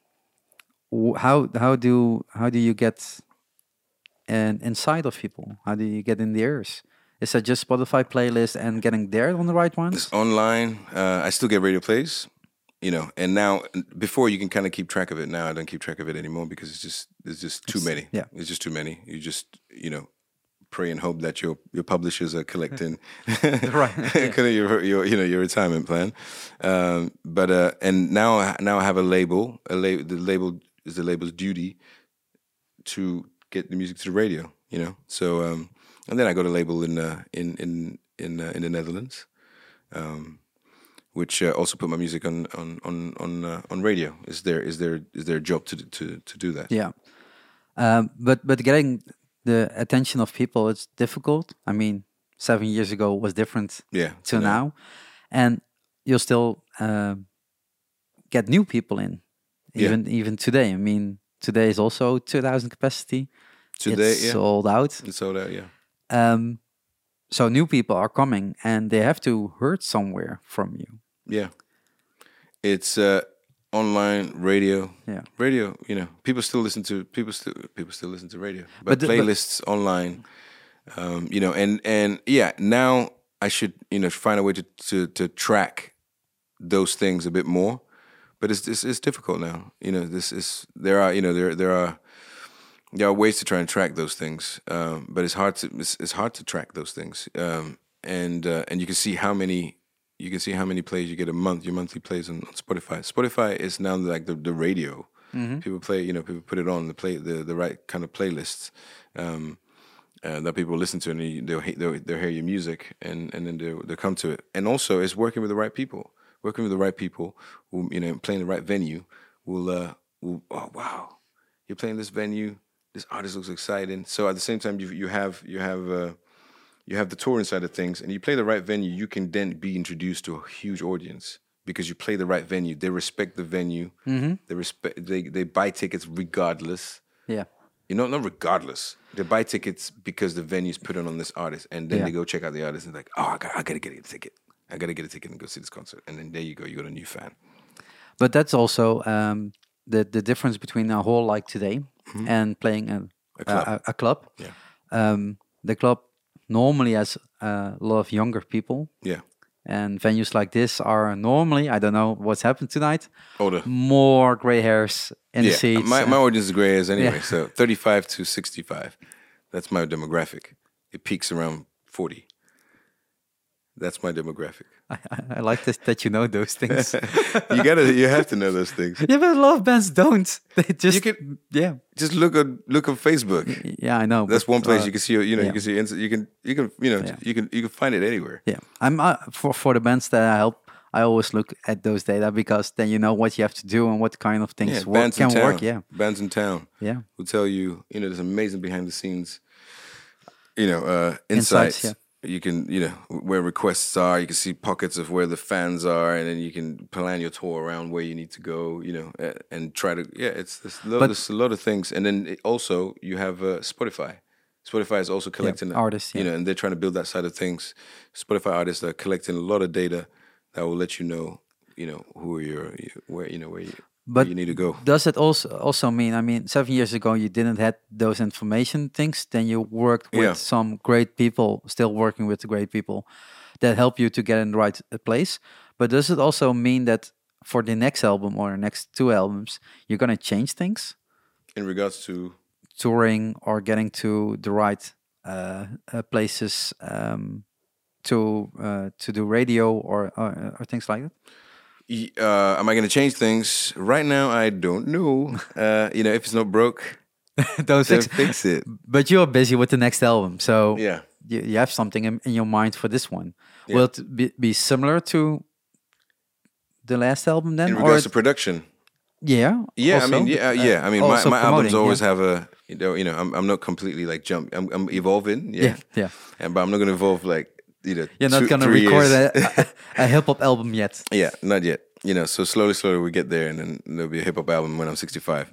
how do you get inside of people? How do you get in the ears? Is that just Spotify playlist and getting there on the right ones? It's online. I still get radio plays, and now before you can kind of keep track of it. Now I don't keep track of it anymore because it's just too many. Yeah, it's just too many. You just pray and hope that your publishers are collecting right your retirement plan. And now I have a label. The label is the label's duty to get the music to the radio. So and then I got a label in the Netherlands. Which also put my music on radio. Is their job to do that? Yeah, but getting the attention of people, it's difficult. I mean, 7 years ago was different. To now, and you'll still get new people in, even today. I mean, today is also 2,000 capacity. Today, it's sold out. It's sold out. Yeah. So new people are coming, and they have to hear somewhere from you. Yeah, it's online radio. Yeah, radio. People still listen to radio, but playlists online. And now I should find a way to track those things a bit more, but it's difficult now. There are ways to try and track those things, but it's hard to track those things. And you can see how many plays you get a month. Your monthly plays on Spotify. Spotify is now like the radio. People play, people put it on the right kind of playlists that people listen to, and they'll hear your music, and then they'll come to it. And also, it's working with the right people. Working with the right people, who, playing the right venue, will oh wow, you're playing this venue. This artist looks exciting. So at the same time, you have the touring side of things, and you play the right venue. You can then be introduced to a huge audience because you play the right venue. They respect the venue. They buy tickets regardless. Yeah. Not regardless. They buy tickets because the venue's put on this artist, and then they go check out the artist and like, oh, I gotta get a ticket. I gotta get a ticket and go see this concert. And then there you go. You got a new fan. But that's also the difference between a hall like today and playing a club. Yeah. The club normally has a lot of younger people. Yeah. And venues like this are normally, I don't know what's happened tonight, Older. More gray hairs in the seats. My audience is gray hairs anyway, so 35 to 65. That's my demographic. It peaks around 40. That's my demographic. I like this, that you know those things. You have to know those things. Yeah, but a lot of bands don't. They just just look on Facebook. Yeah, I know. That's one place you can see. You can see. You can find it anywhere. Yeah, I'm for the bands that I help. I always look at those data because then you know what you have to do and what kind of things can work. Yeah, bands in town. Yeah, will tell you. There's amazing behind the scenes. Insights. Yeah. You can, where requests are. You can see pockets of where the fans are, and then you can plan your tour around where you need to go. And try to. Yeah, there's a lot of things, and then also you have Spotify. Spotify is also collecting artists, and they're trying to build that side of things. Spotify artists are collecting a lot of data that will let you know, who are where you need to go. Does it also mean? I mean, 7 years ago you didn't have those information things. Then you worked with some great people, still working with the great people that help you to get in the right place. But does it also mean that for the next album or next 2 albums, you're gonna change things in regards to touring or getting to the right places to do radio or things like that? Am I going to change things? Right now, I don't know. If it's not broke, don't fix it. But you're busy with the next album, so yeah, you have something in your mind for this one. Yeah. Will it be similar to the last album then? In regards to production? Yeah. Yeah, also, I mean, my albums always have a, I'm not completely like I'm evolving. Yeah. But I'm not going to evolve like, you're not going to record a hip hop album yet. Yeah, not yet. So slowly we get there, and then there'll be a hip hop album when I'm 65.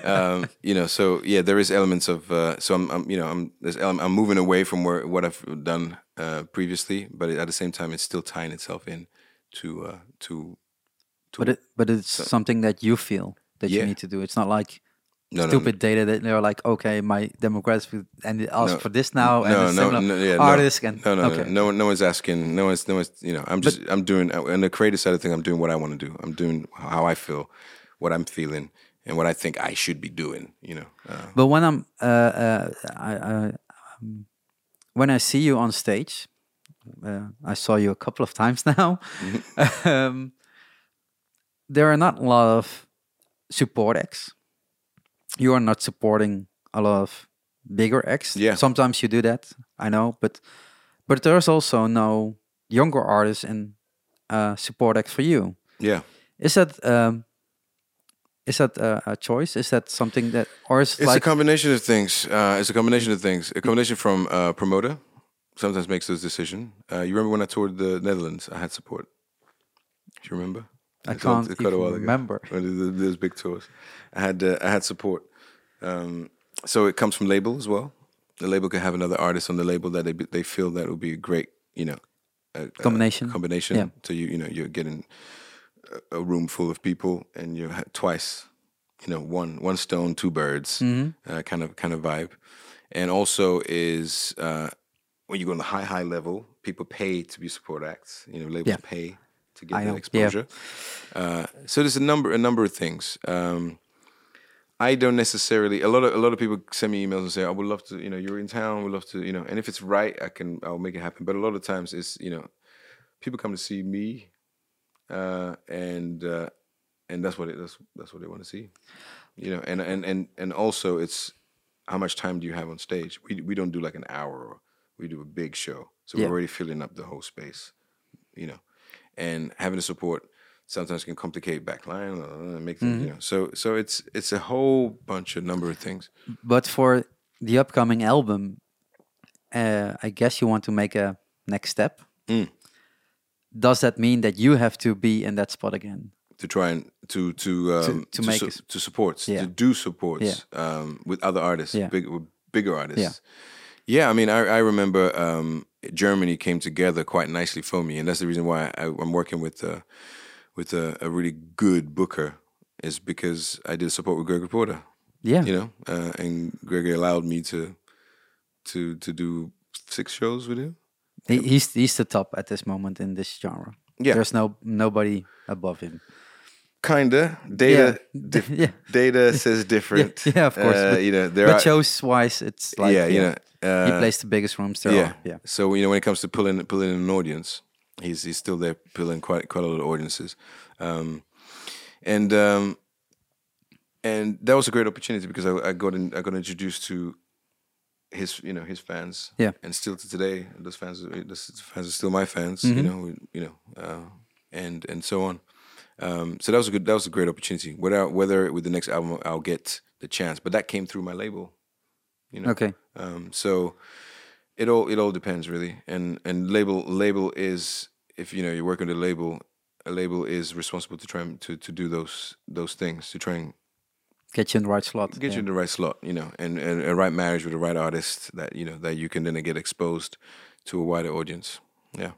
So yeah, there is elements of. So I'm moving away from what I've done previously, but at the same time, it's still tying itself in to. But it's something that you feel that you need to do. It's not like stupid data that they're like, okay, my demographic and it asks for this now artists and no one's asking, no one's I'm doing on the creative side of things. I'm doing what I want to do. I'm doing how I feel, what I'm feeling, and what I think I should be doing. But when when I see you on stage, I saw you a couple of times now. There are not a lot of support acts. You are not supporting a lot of bigger acts. Yeah. Sometimes you do that, I know, but there's also no younger artists in support act for you. Yeah. Is that a choice? Is that something that, or is it's a combination of things? It's a combination of things. A combination from promoter sometimes makes those decisions. You remember when I toured the Netherlands? I had support. Do you remember? I can't even remember. Those big tours. I had support. So it comes from label as well. The label can have another artist on the label that they feel that would be a great, combination. Yeah. So you're getting a room full of people, and you twice, one stone, 2 birds, kind of vibe. And also is when you go on the high level, people pay to be support acts. Labels pay to get that exposure. Yeah. So there's a number of things. I don't necessarily. A lot of people send me emails and say, "I would love to. You're in town. We'd love to. And if it's right, I'll make it happen." But a lot of times, it's people come to see me, and that's what they want to see. You know, and also it's how much time do you have on stage? We don't do like an hour. Or we do a big show, so we're Yeah. already filling up the whole space. You know, and having the support sometimes can complicate backline, make things. You know, so it's a whole bunch of number of things. But for the upcoming album, I guess you want to make a next step. Mm. Does that mean that you have to be in that spot again? To try and to make to support Yeah. to do supports with other artists, Yeah. with bigger artists. Yeah. Yeah, I mean, I remember Germany came together quite nicely for me, and that's the reason why I'm working with a really good booker, is because I did support with Gregory Porter. Yeah. You know, and Gregory allowed me to do 6 shows with him. He's the top at this moment in this genre. Yeah. There's nobody above him. Kinda. Data Yeah. Data says different. Yeah, of course. But, you know, there but are shows wise, it's like you know. he plays the biggest rooms there are. Yeah. So when it comes to pulling in an audience, he's still there pulling quite a lot of audiences, and that was a great opportunity because I got introduced to his fans. Yeah. And still to today, those fans are still my fans. You know, and so on. So that was a great opportunity. Whether with the next album I'll get the chance, but that came through my label. You know. Okay. So it all depends really, and label is, if you know you're working with a label is responsible to try to do those things, to try and Get you in the right slot. get you in the right slot, you know, and a right marriage with the right artist that you can then get exposed to a wider audience. Yeah.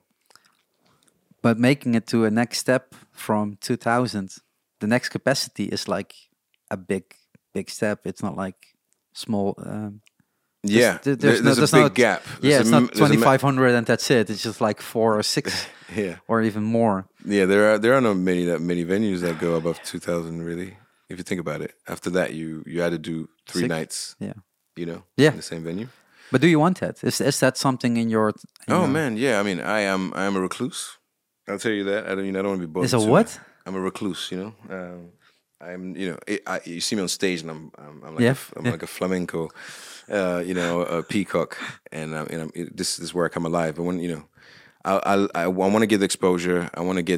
But making it to a next step from 2000, the next capacity is like a big step. It's not like small. Yeah, there's there's a big gap. Yeah, it's not there's a 2,500 and that's it. It's just like 4 or 6 Yeah, or even more. yeah. There are not many venues that go above 2,000 really. If you think about it, after that you had to do 3 6? nights. Yeah. You know. Yeah. In the same venue. But do you want that? Is that something in your? Oh man, yeah. I mean, I am a recluse. I'll tell you that. I don't want to be bothered. Is a too. what? I'm a recluse. You know. I'm. You know. You see me on stage, and I'm like Yeah. I'm like a flamenco. You know, a peacock, and this is where I come alive. But when you know, I want to get the exposure. I want to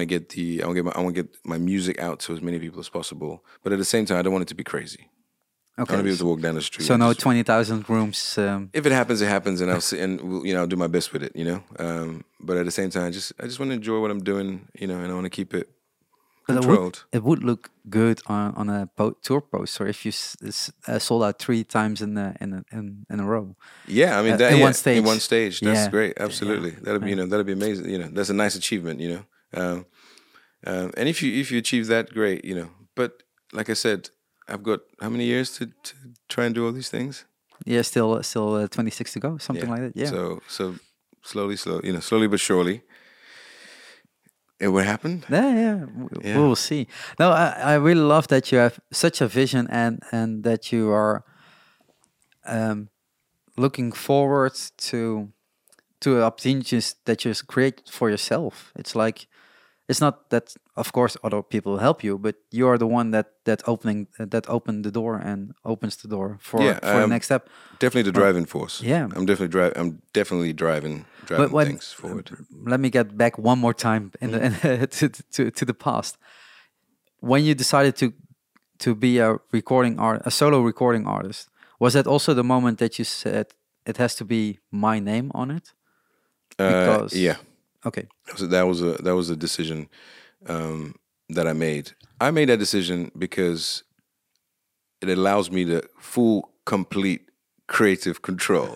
get my music out to as many people as possible. But at the same time, I don't want it to be crazy. Okay. I want to be able to walk down the street. So and no just- 20,000 rooms. if it happens, it happens, and I'll see, and you know, I'll do my best with it. You know, but at the same time, I just want to enjoy what I'm doing. You know, and I want to keep it But controlled. it would look good on a tour poster if you sold out 3 times in a row. Yeah, I mean, in one in one stage, that's Yeah. great. Absolutely, that'd be amazing. You know, that's a nice achievement. You know, and if you achieve that, great. You know, but like I said, I've got how many years to try and do all these things? Yeah, still 26 to go, something like that. Yeah. So slowly but surely, it will happen. Yeah. Yeah. We will see. No, I really love that you have such a vision and that you are looking forward to opportunities that you create for yourself. It's like, it's not that, of course, other people help you, but you are the one that opened the door and opens the door for the next step. Definitely the driving force. Yeah. I'm definitely driving When- things forward. Let me get back one more time to the past. When you decided to be a solo recording artist, was that also the moment that you said it has to be my name on it? Because- Yeah, Okay. that was a decision that I made. I made that decision because it allows me the full, complete creative control.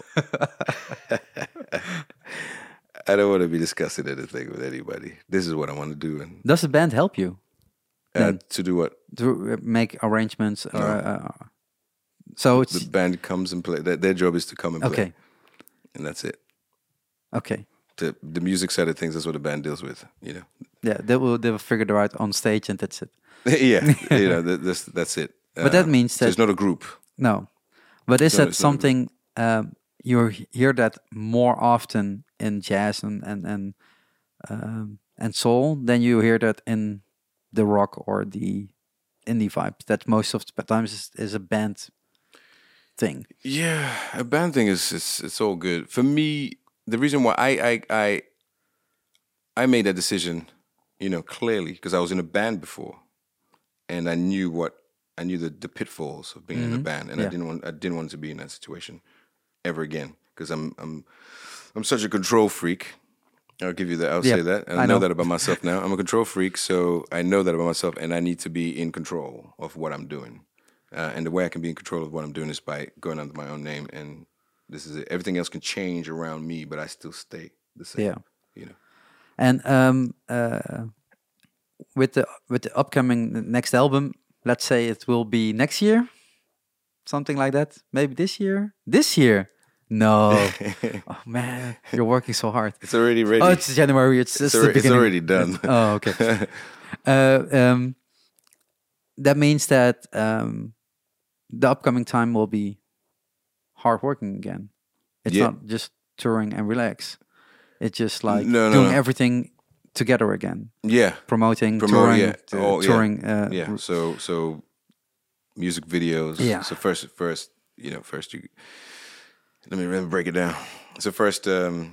I don't want to be discussing anything with anybody. This is what I want to do, and Does the band help you to do what to make arrangements? So it's the band comes and play. Their job is to come and play, okay. and that's it. Okay. The music side of things, that's what the band deals with. You know. Yeah, they will figure it out on stage, and that's it. Yeah, you know, that's it. But that means so it's that- not a group. No, but is No, that it's not a something you hear that more often in jazz and soul than you hear that in the rock or the indie vibe that most of the times is a band thing. Yeah, a band thing is it's all good for me. The reason why I made that decision, clearly because I was in a band before, and I knew the pitfalls of being in a band, and Yeah. I didn't want to be in that situation ever again because I'm such a control freak. I'll give you that. I'll Yeah, say that. And I I know know. that about myself now. I'm a control freak, so I know that about myself, and I need to be in control of what I'm doing. And the way I can be in control of what I'm doing is by going under my own name. And this is it. Everything else can change around me, but I still stay the same. Yeah. You know. And with the upcoming next album, let's say it will be next year, something like that. Maybe this year. This year. No. Oh man, you're working so hard. It's already ready. Oh, it's January. It's the it's beginning. already done. Oh, okay. That means that the upcoming time will be hard working again. It's Yeah. not just touring and relax. It's just like No, doing no. everything together again. Yeah. Promoting, Promote, touring, yeah. Oh, yeah. touring. Yeah. So music videos. Yeah. So first you let me break it down. So first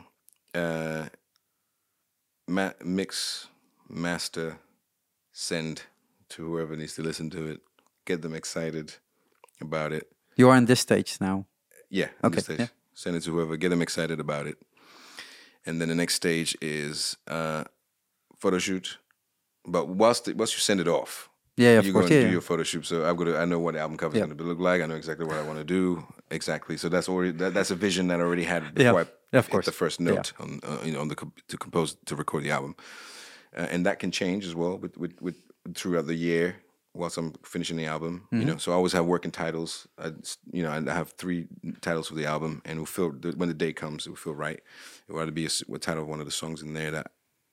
mix, master, send to whoever needs to listen to it. Get them excited about it. You are in this stage now. Yeah. Okay, This stage. yeah. Send it to whoever. Get them excited about it. And then the next stage is photo shoot. But whilst you send it off, Yeah, of you course. go and Yeah. do your photo shoot. So I know what the album cover is Yeah. going to look like. I know exactly what I want to do. Exactly. So that's already that's a vision that I already had before I Yeah, of hit course. the first note to record the album. And that can change as well with throughout the year whilst I'm finishing the album. So I always have working titles. I have 3 titles for the album, and when the day comes, it will feel right. It will either be a title of one of the songs in there that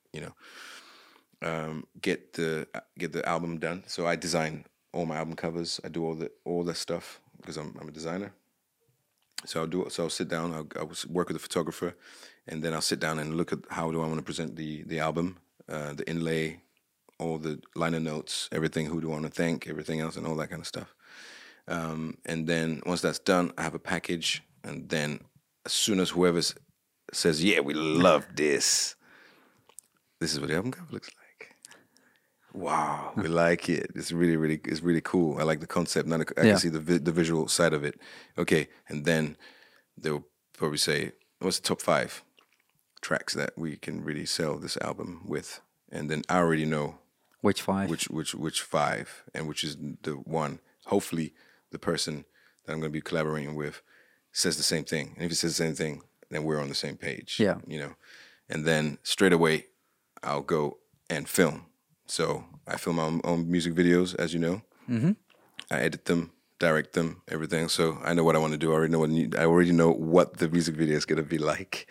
get the album done. So I design all my album covers. I do all that stuff because I'm a designer. So I'll sit down. I'll work with the photographer, and then I'll sit down and look at how do I want to present the album, the inlay, all the liner notes, everything. Who do I want to thank? Everything else, and all that kind of stuff. And then once that's done, I have a package, and then as soon as whoever says, "Yeah, we love this," this is what the album cover looks like. Wow, we like it. It's really cool. I like the concept. Now I can see the visual side of it. Okay, and then they'll probably say, "What's the top 5 tracks that we can really sell this album with?" And then I already know Which 5? which 5, and which is the one. Hopefully, the person that I'm going to be collaborating with says the same thing. And if he says the same thing, then we're on the same page. Yeah. And then straight away, I'll go and film. So I film my own music videos, as you know. Mm-hmm. I edit them, direct them, everything. So I know what I want to do. I already know what the music video is going to be like.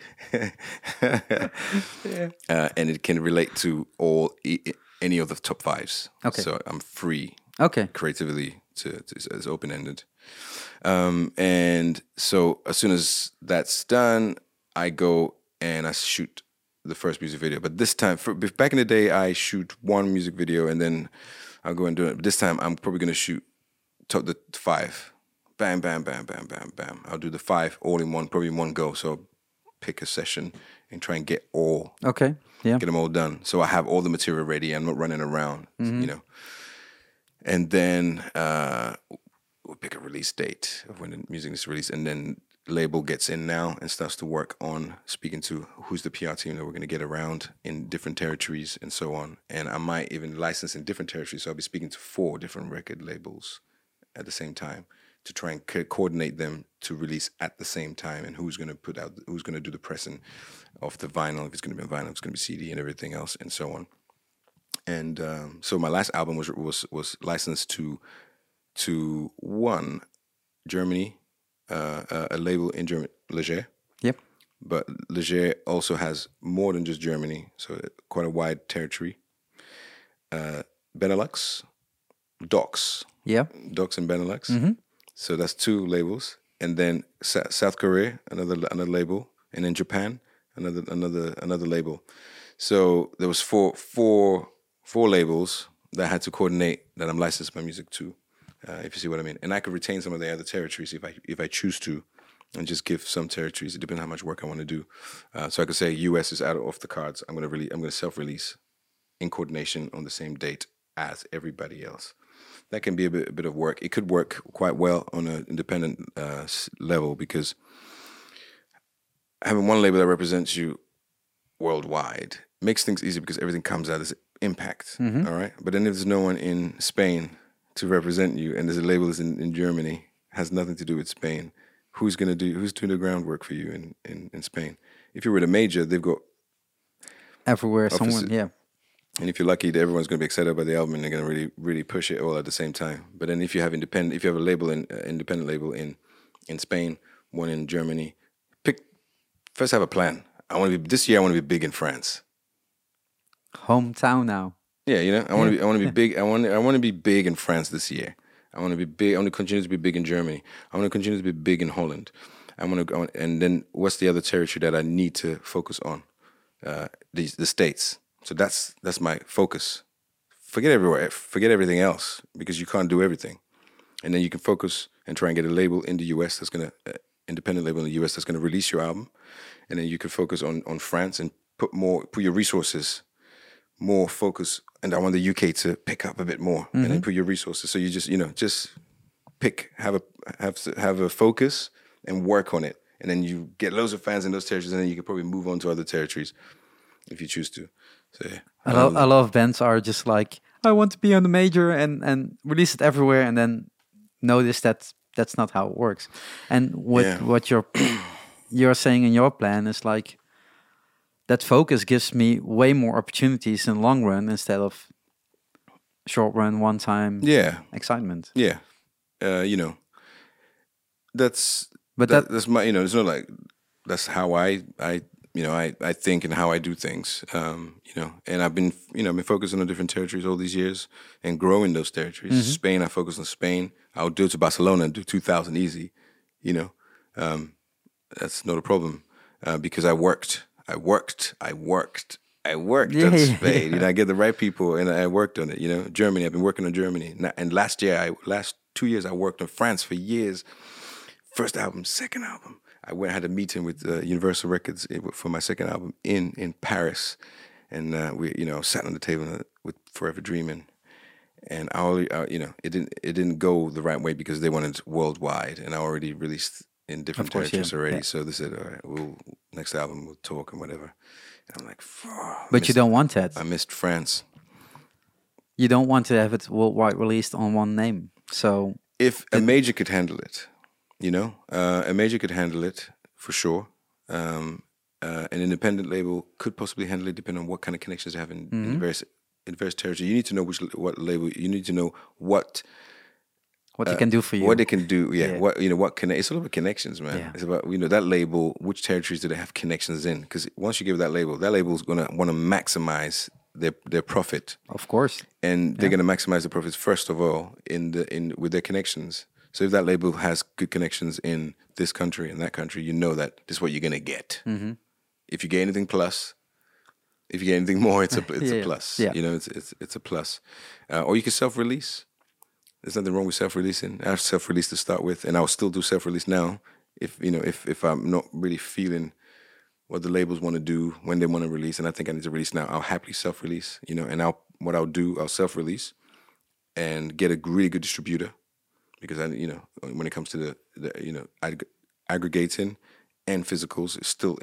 And it can relate to any of the top 5s. Okay. So I'm free. Okay. Creatively it's open ended. And so as soon as that's done, I go and I shoot the first music video. But this time, back in the day, I shoot one music video and then I'll go and do it. But this time, I'm probably going to shoot the 5. Bam, bam, bam, bam, bam, bam. I'll do the 5 all in one, probably in one go. So I'll pick a session and try and get Okay. Yeah. get them all done. So I have all the material ready. I'm not running around, And then we'll pick a release date of when the music is released. And then label gets in now and starts to work on speaking to who's the PR team that we're going to get around in different territories and so on. And I might even license in different territories. So I'll be speaking to 4 different record labels at the same time to try and coordinate them to release at the same time, and who's going to do the pressing of the vinyl, if it's going to be a vinyl, if it's going to be CD and everything else and so on. And so my last album was licensed to one Germany, a label in Germany, Leger. Yep. But Leger also has more than just Germany, so quite a wide territory. Benelux, Docs. Yeah. Docs and Benelux. Mm-hmm. So that's 2 labels. And then South Korea, another label. And then Japan, another label. So there was four labels that had to coordinate that I'm licensed my music to, if you see what I mean. And I could retain some of the other territories if I choose to, and just give some territories. It depends on how much work I want to do. So I could say US is out off the cards. I'm gonna self-release in coordination on the same date as everybody else. That can be a bit of work. It could work quite well on an independent level, because having one label that represents you worldwide makes things easy, because everything comes out as impact. All right. But then if there's no one in Spain to represent you, and there's a label that's in Germany, has nothing to do with Spain, who's doing the groundwork for you in Spain? If you're with a major, they've got Everywhere, someone, yeah. And if you're lucky, everyone's going to be excited about the album, and they're going to really, really push it all at the same time. But then if you have a label, independent label in Spain, one in Germany, first have a plan. This year I want to be big in France. Hometown now. Yeah, I want to be big. I want to be big in France this year. I want to be big. I want to continue to be big in Germany. I want to continue to be big in Holland. And then what's the other territory that I need to focus on? The States. So that's my focus. Forget everything else, because you can't do everything. And then you can focus and try and get a label in the US independent label in the US that's gonna release your album. And then you can focus on France and put your resources, more focus. And I want the UK to pick up a bit more, and then put your resources. So you just pick, have a focus and work on it. And then you get loads of fans in those territories, and then you can probably move on to other territories if you choose to. So yeah. A lot of bands are just like, I want to be on the major and release it everywhere, and then notice that that's not how it works. And what you're saying in your plan is like, that focus gives me way more opportunities in the long run instead of short run, one time excitement. Yeah. That's my, it's not like, that's how I think and how I do things, and I've been focusing on different territories all these years and growing those territories. Spain, I focus on Spain. I'll do it to Barcelona and do 2,000 easy, that's not a problem, because I worked on Spain. I get the right people, and I worked on it. Germany, I've been working on Germany, and last 2 years I worked on France for years. First album, second album. I had a meeting with Universal Records for my second album in Paris, and we sat on the table with Forever Dreaming, and it didn't go the right way because they wanted worldwide, and I already released in different territories already. Yeah. So they said, all right, next album we'll talk and whatever. And I'm like, but you don't want that. I missed France. You don't want to have it worldwide released on one name. So if a major could handle it. A major could handle it for sure. An independent label could possibly handle it, depending on what kind of connections they have in the various territories. You need to know what label. You need to know what they can do for you. What they can do. Yeah. What it's all about connections, man. Yeah. It's about that label. Which territories do they have connections in? Because once you give that label is gonna want to maximize their profit. Of course. And they're gonna maximize the profits first of all with their connections. So if that label has good connections in this country and that country, that this is what you're gonna get. If you get anything plus, if you get anything more, it's a plus. Yeah. It's a plus. Or you can self-release. There's nothing wrong with self-releasing. I self-released to start with, and I'll still do self-release now. If I'm not really feeling what the labels want to do when they want to release, and I think I need to release now, I'll happily self-release. And I'll self-release and get a really good distributor. Because when it comes to the aggregating and physicals, it's still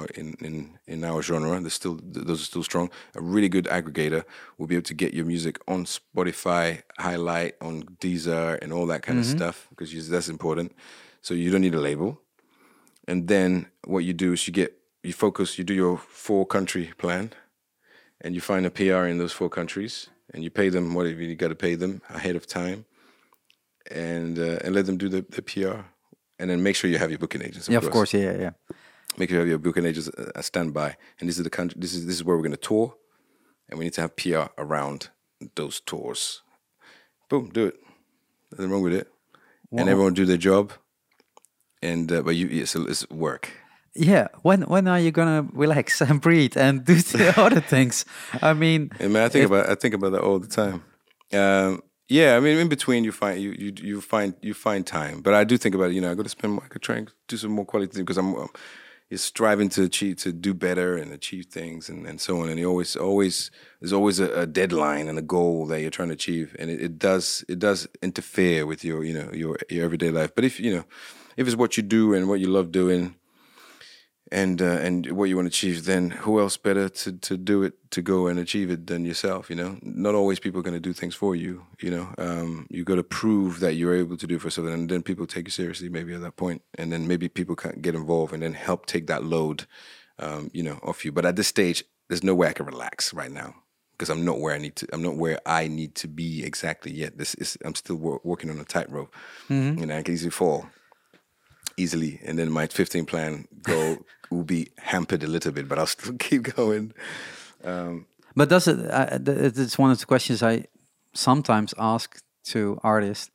in our genre. Those are still strong. A really good aggregator will be able to get your music on Spotify, highlight on Deezer, and all that kind of stuff, because that's important. So you don't need a label. And then what you do is you focus. You do your 4-country plan, and you find a PR in those 4 countries, and you pay them whatever you got to pay them ahead of time. And let them do the PR, and then make sure you have your booking agents. Of course, yeah. Make sure you have your booking agents standby. And this is the country. This is where we're going to tour, and we need to have PR around those tours. Boom, do it. Nothing wrong with it. Wow. And everyone do their job. And it's work. Yeah. When are you gonna relax and breathe and do the other things? I mean, I think about that all the time. Yeah, I mean, in between you find time, but I do think about it. I got to spend. I could try and do some more quality things because I'm is striving to achieve, to do better and achieve things and so on. And you always there's always a deadline and a goal that you're trying to achieve, and it does interfere with your everyday life. But if it's what you do and what you love doing, and what you want to achieve, then who else better to do it, to go and achieve it than yourself? Not always people are going to do things for you. You got to prove that you're able to do it for something, and then people take you seriously maybe at that point, and then maybe people can get involved and then help take that load, off you. But at this stage, there's no way I can relax right now because I'm not where I need to be exactly yet. I'm still working on a tightrope. I can easily fall. Easily, and then my 15 plan goal will be hampered a little bit, but I'll still keep going. But does it? It's one of the questions I sometimes ask to artists.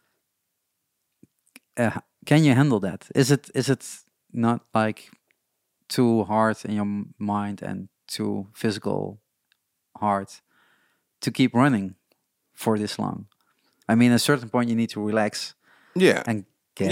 Can you handle that? Is it not like too hard in your mind and too physical hard to keep running for this long? I mean, at a certain point, you need to relax. Yeah, and when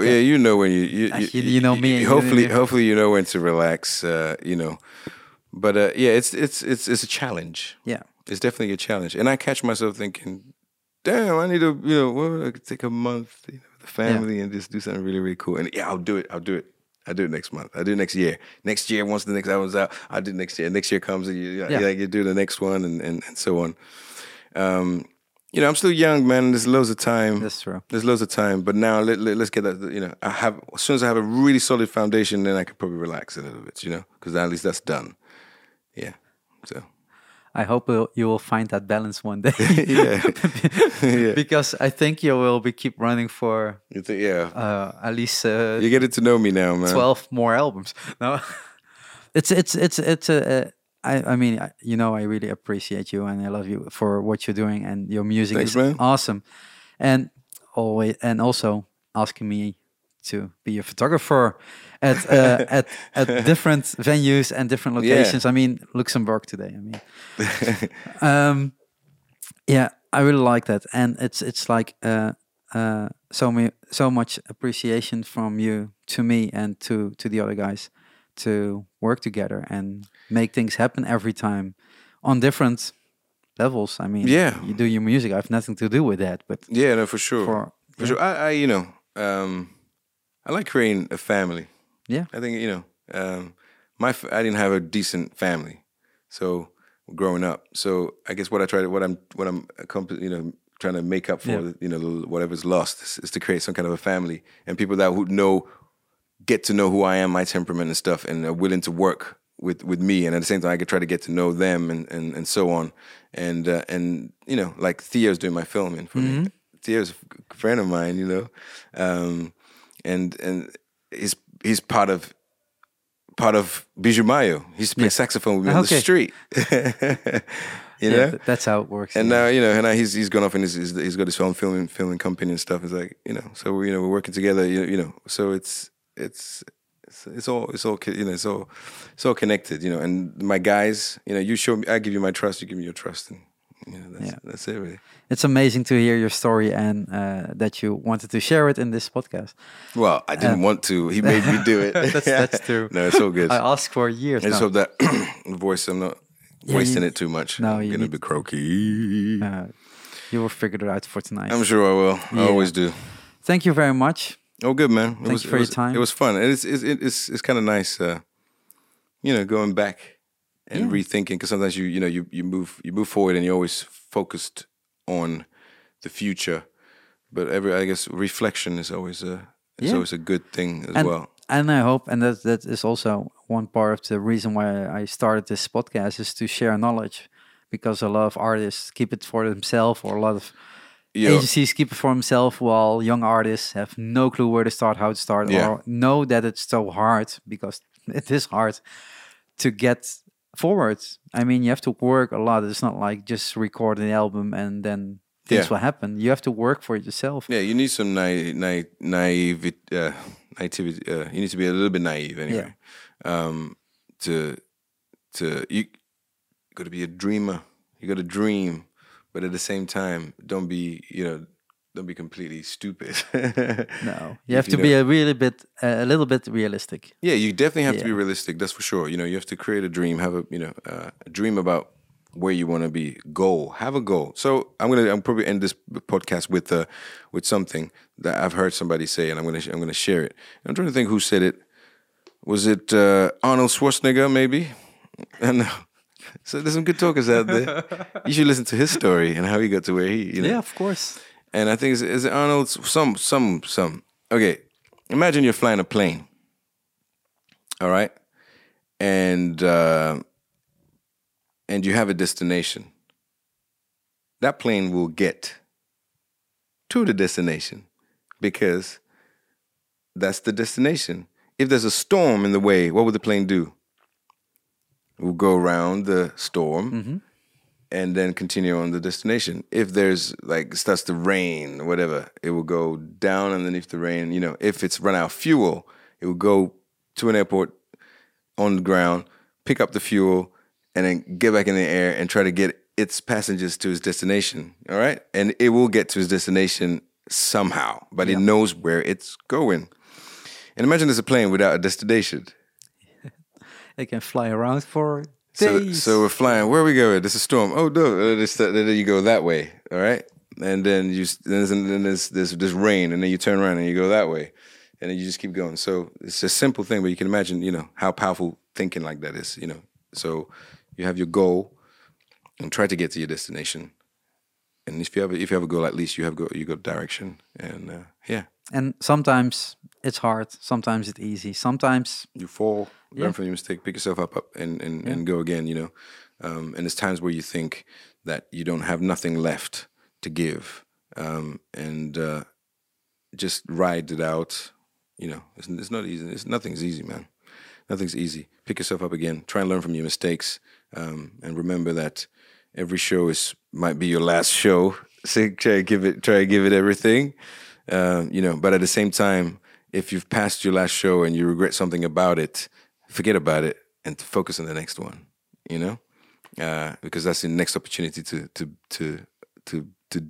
you know me. Hopefully you know when to relax. But it's a challenge. Yeah, it's definitely a challenge, and I catch myself thinking, "Damn, I need to I could take a month with the family and just do something really really cool." And I'll do it. I'll do it next month. I'll do it next year. Next year, once the next album's out, I'll do it next year. Next year comes, and you do the next one, and so on. I'm still young, man. There's loads of time. That's true. There's loads of time. But now let's get that. As soon as I have a really solid foundation, then I could probably relax a little bit. Because at least that's done. Yeah. So. I hope you will find that balance one day. yeah. Because I think you will keep running for. You think, yeah. At least. You're getting to know me now, man. 12 more albums. No. It's a. I mean, I really appreciate you and I love you for what you're doing, and your music is awesome. And also asking me to be a photographer at different venues and different locations. I mean, Luxembourg today. I mean, I really like that, and it's like so much appreciation from you to me and to the other guys to work together and make things happen every time on different levels. I mean, you do your music. I have nothing to do with that, but no, for sure. For sure. I like creating a family. Yeah. I think, I didn't have a decent family. So growing up. So I guess what I'm trying to make up for, whatever's lost is to create some kind of a family, and people that would get to know who I am, my temperament and stuff, and are willing to work with me, and at the same time I could try to get to know them and so on. And like Theo's doing my filming for me. Theo's a friend of mine, and he's part of Bijou Mayo. He's playing saxophone with me on the street. That's how it works. And now, and now he's gone off and he's got his own filming company and stuff. It's like, so we're working together. So it's all connected. And my guys, you show me, I give you my trust, you give me your trust, and that's it really. It's amazing to hear your story and that you wanted to share it in this podcast. Well, I didn't want to. He made me do it. That's true. No, it's all good. I asked for years. I just hope that voice, I'm not wasting it too much. No, I'm going to be croaky. You will figure it out for tonight. I'm sure I will. I always do. Thank you very much. Oh, good, man. Thank you for your time. It was fun. And it's kind of nice, going back and rethinking, because sometimes you move forward and you're always focused on the future, but I guess reflection is always always a good thing as well. And I hope, and that is also one part of the reason why I started this podcast, is to share knowledge, because a lot of artists keep it for themselves, or a lot of agencies keep it for themselves, while young artists have no clue where to start, how to start, or know that it's so hard, because it is hard to get forward. I mean, you have to work a lot. It's not like just record an album and then things will happen. You have to work for it yourself. Yeah, you need some naivety. You need to be a little bit naive anyway. You got to be a dreamer. You got to dream, but at the same time, don't be completely stupid. No, you have to be a little bit realistic. Yeah, you definitely have to be realistic. That's for sure. You have to create a dream, have a dream about where you want to be. Have a goal. So I'm probably end this podcast with something that I've heard somebody say, and I'm gonna share it. I'm trying to think who said it. Was it Arnold Schwarzenegger? Maybe. And so there's some good talkers out there. You should listen to his story and how he got to where he. Yeah, of course. And I think is it Arnold? Some. Okay, imagine you're flying a plane. All right, and you have a destination. That plane will get to the destination because that's the destination. If there's a storm in the way, what would the plane do? It will go around the storm and then continue on the destination. If there's it starts to rain or whatever, it will go down underneath the rain. If it's run out of fuel, it will go to an airport on the ground, pick up the fuel, and then get back in the air and try to get its passengers to his destination. All right? And it will get to his destination somehow, but it knows where it's going. And imagine there's a plane without a destination. It can fly around for days. So we're flying. Where are we going? There's a storm. Oh, no. Then you go that way. All right? And then there's rain, and then you turn around and you go that way. And then you just keep going. So it's a simple thing, but you can imagine, how powerful thinking like that is, So you have your goal and try to get to your destination. And if you have a goal, at least you got direction. And And sometimes it's hard. Sometimes it's easy. Sometimes you fall, learn from your mistake, pick yourself up and go again. And there's times where you think that you don't have nothing left to give, and just ride it out. It's not easy. Nothing's easy, man. Nothing's easy. Pick yourself up again. Try and learn from your mistakes, and remember that every show might be your last show. So try to give it everything. But at the same time, if you've passed your last show and you regret something about it, forget about it and focus on the next one. Because that's the next opportunity to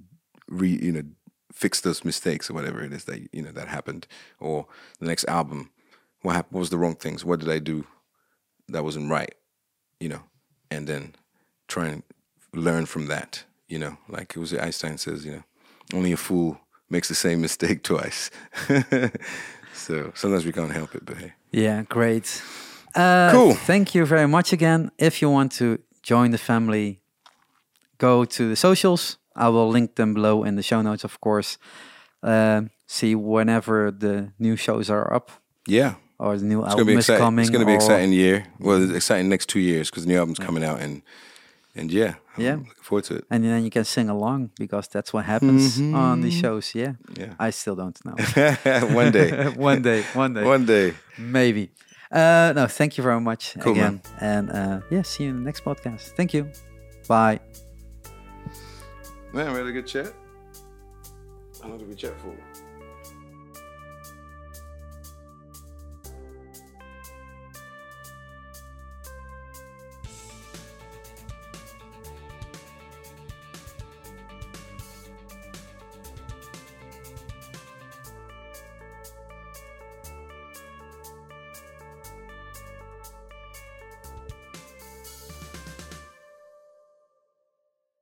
fix those mistakes or whatever it is that that happened, or the next album. What happened? What was the wrong things? What did I do that wasn't right? And then try and learn from that. Like it was Einstein says, only a fool makes the same mistake twice. So sometimes we can't help it, but hey. Yeah, great. Cool. Thank you very much again. If you want to join the family, go to the socials. I will link them below in the show notes, of course. See whenever the new shows are up. Yeah. Or the new album is coming. It's going to be an exciting year. Well, it's exciting next 2 years because the new album's coming out. And I'm looking forward to it. And then you can sing along because that's what happens on these shows. Yeah. I still don't know. One day. One day. Maybe. No, thank you very much again. Man. And see you in the next podcast. Thank you. Bye. Man, we had a good chat. How long did we chat for?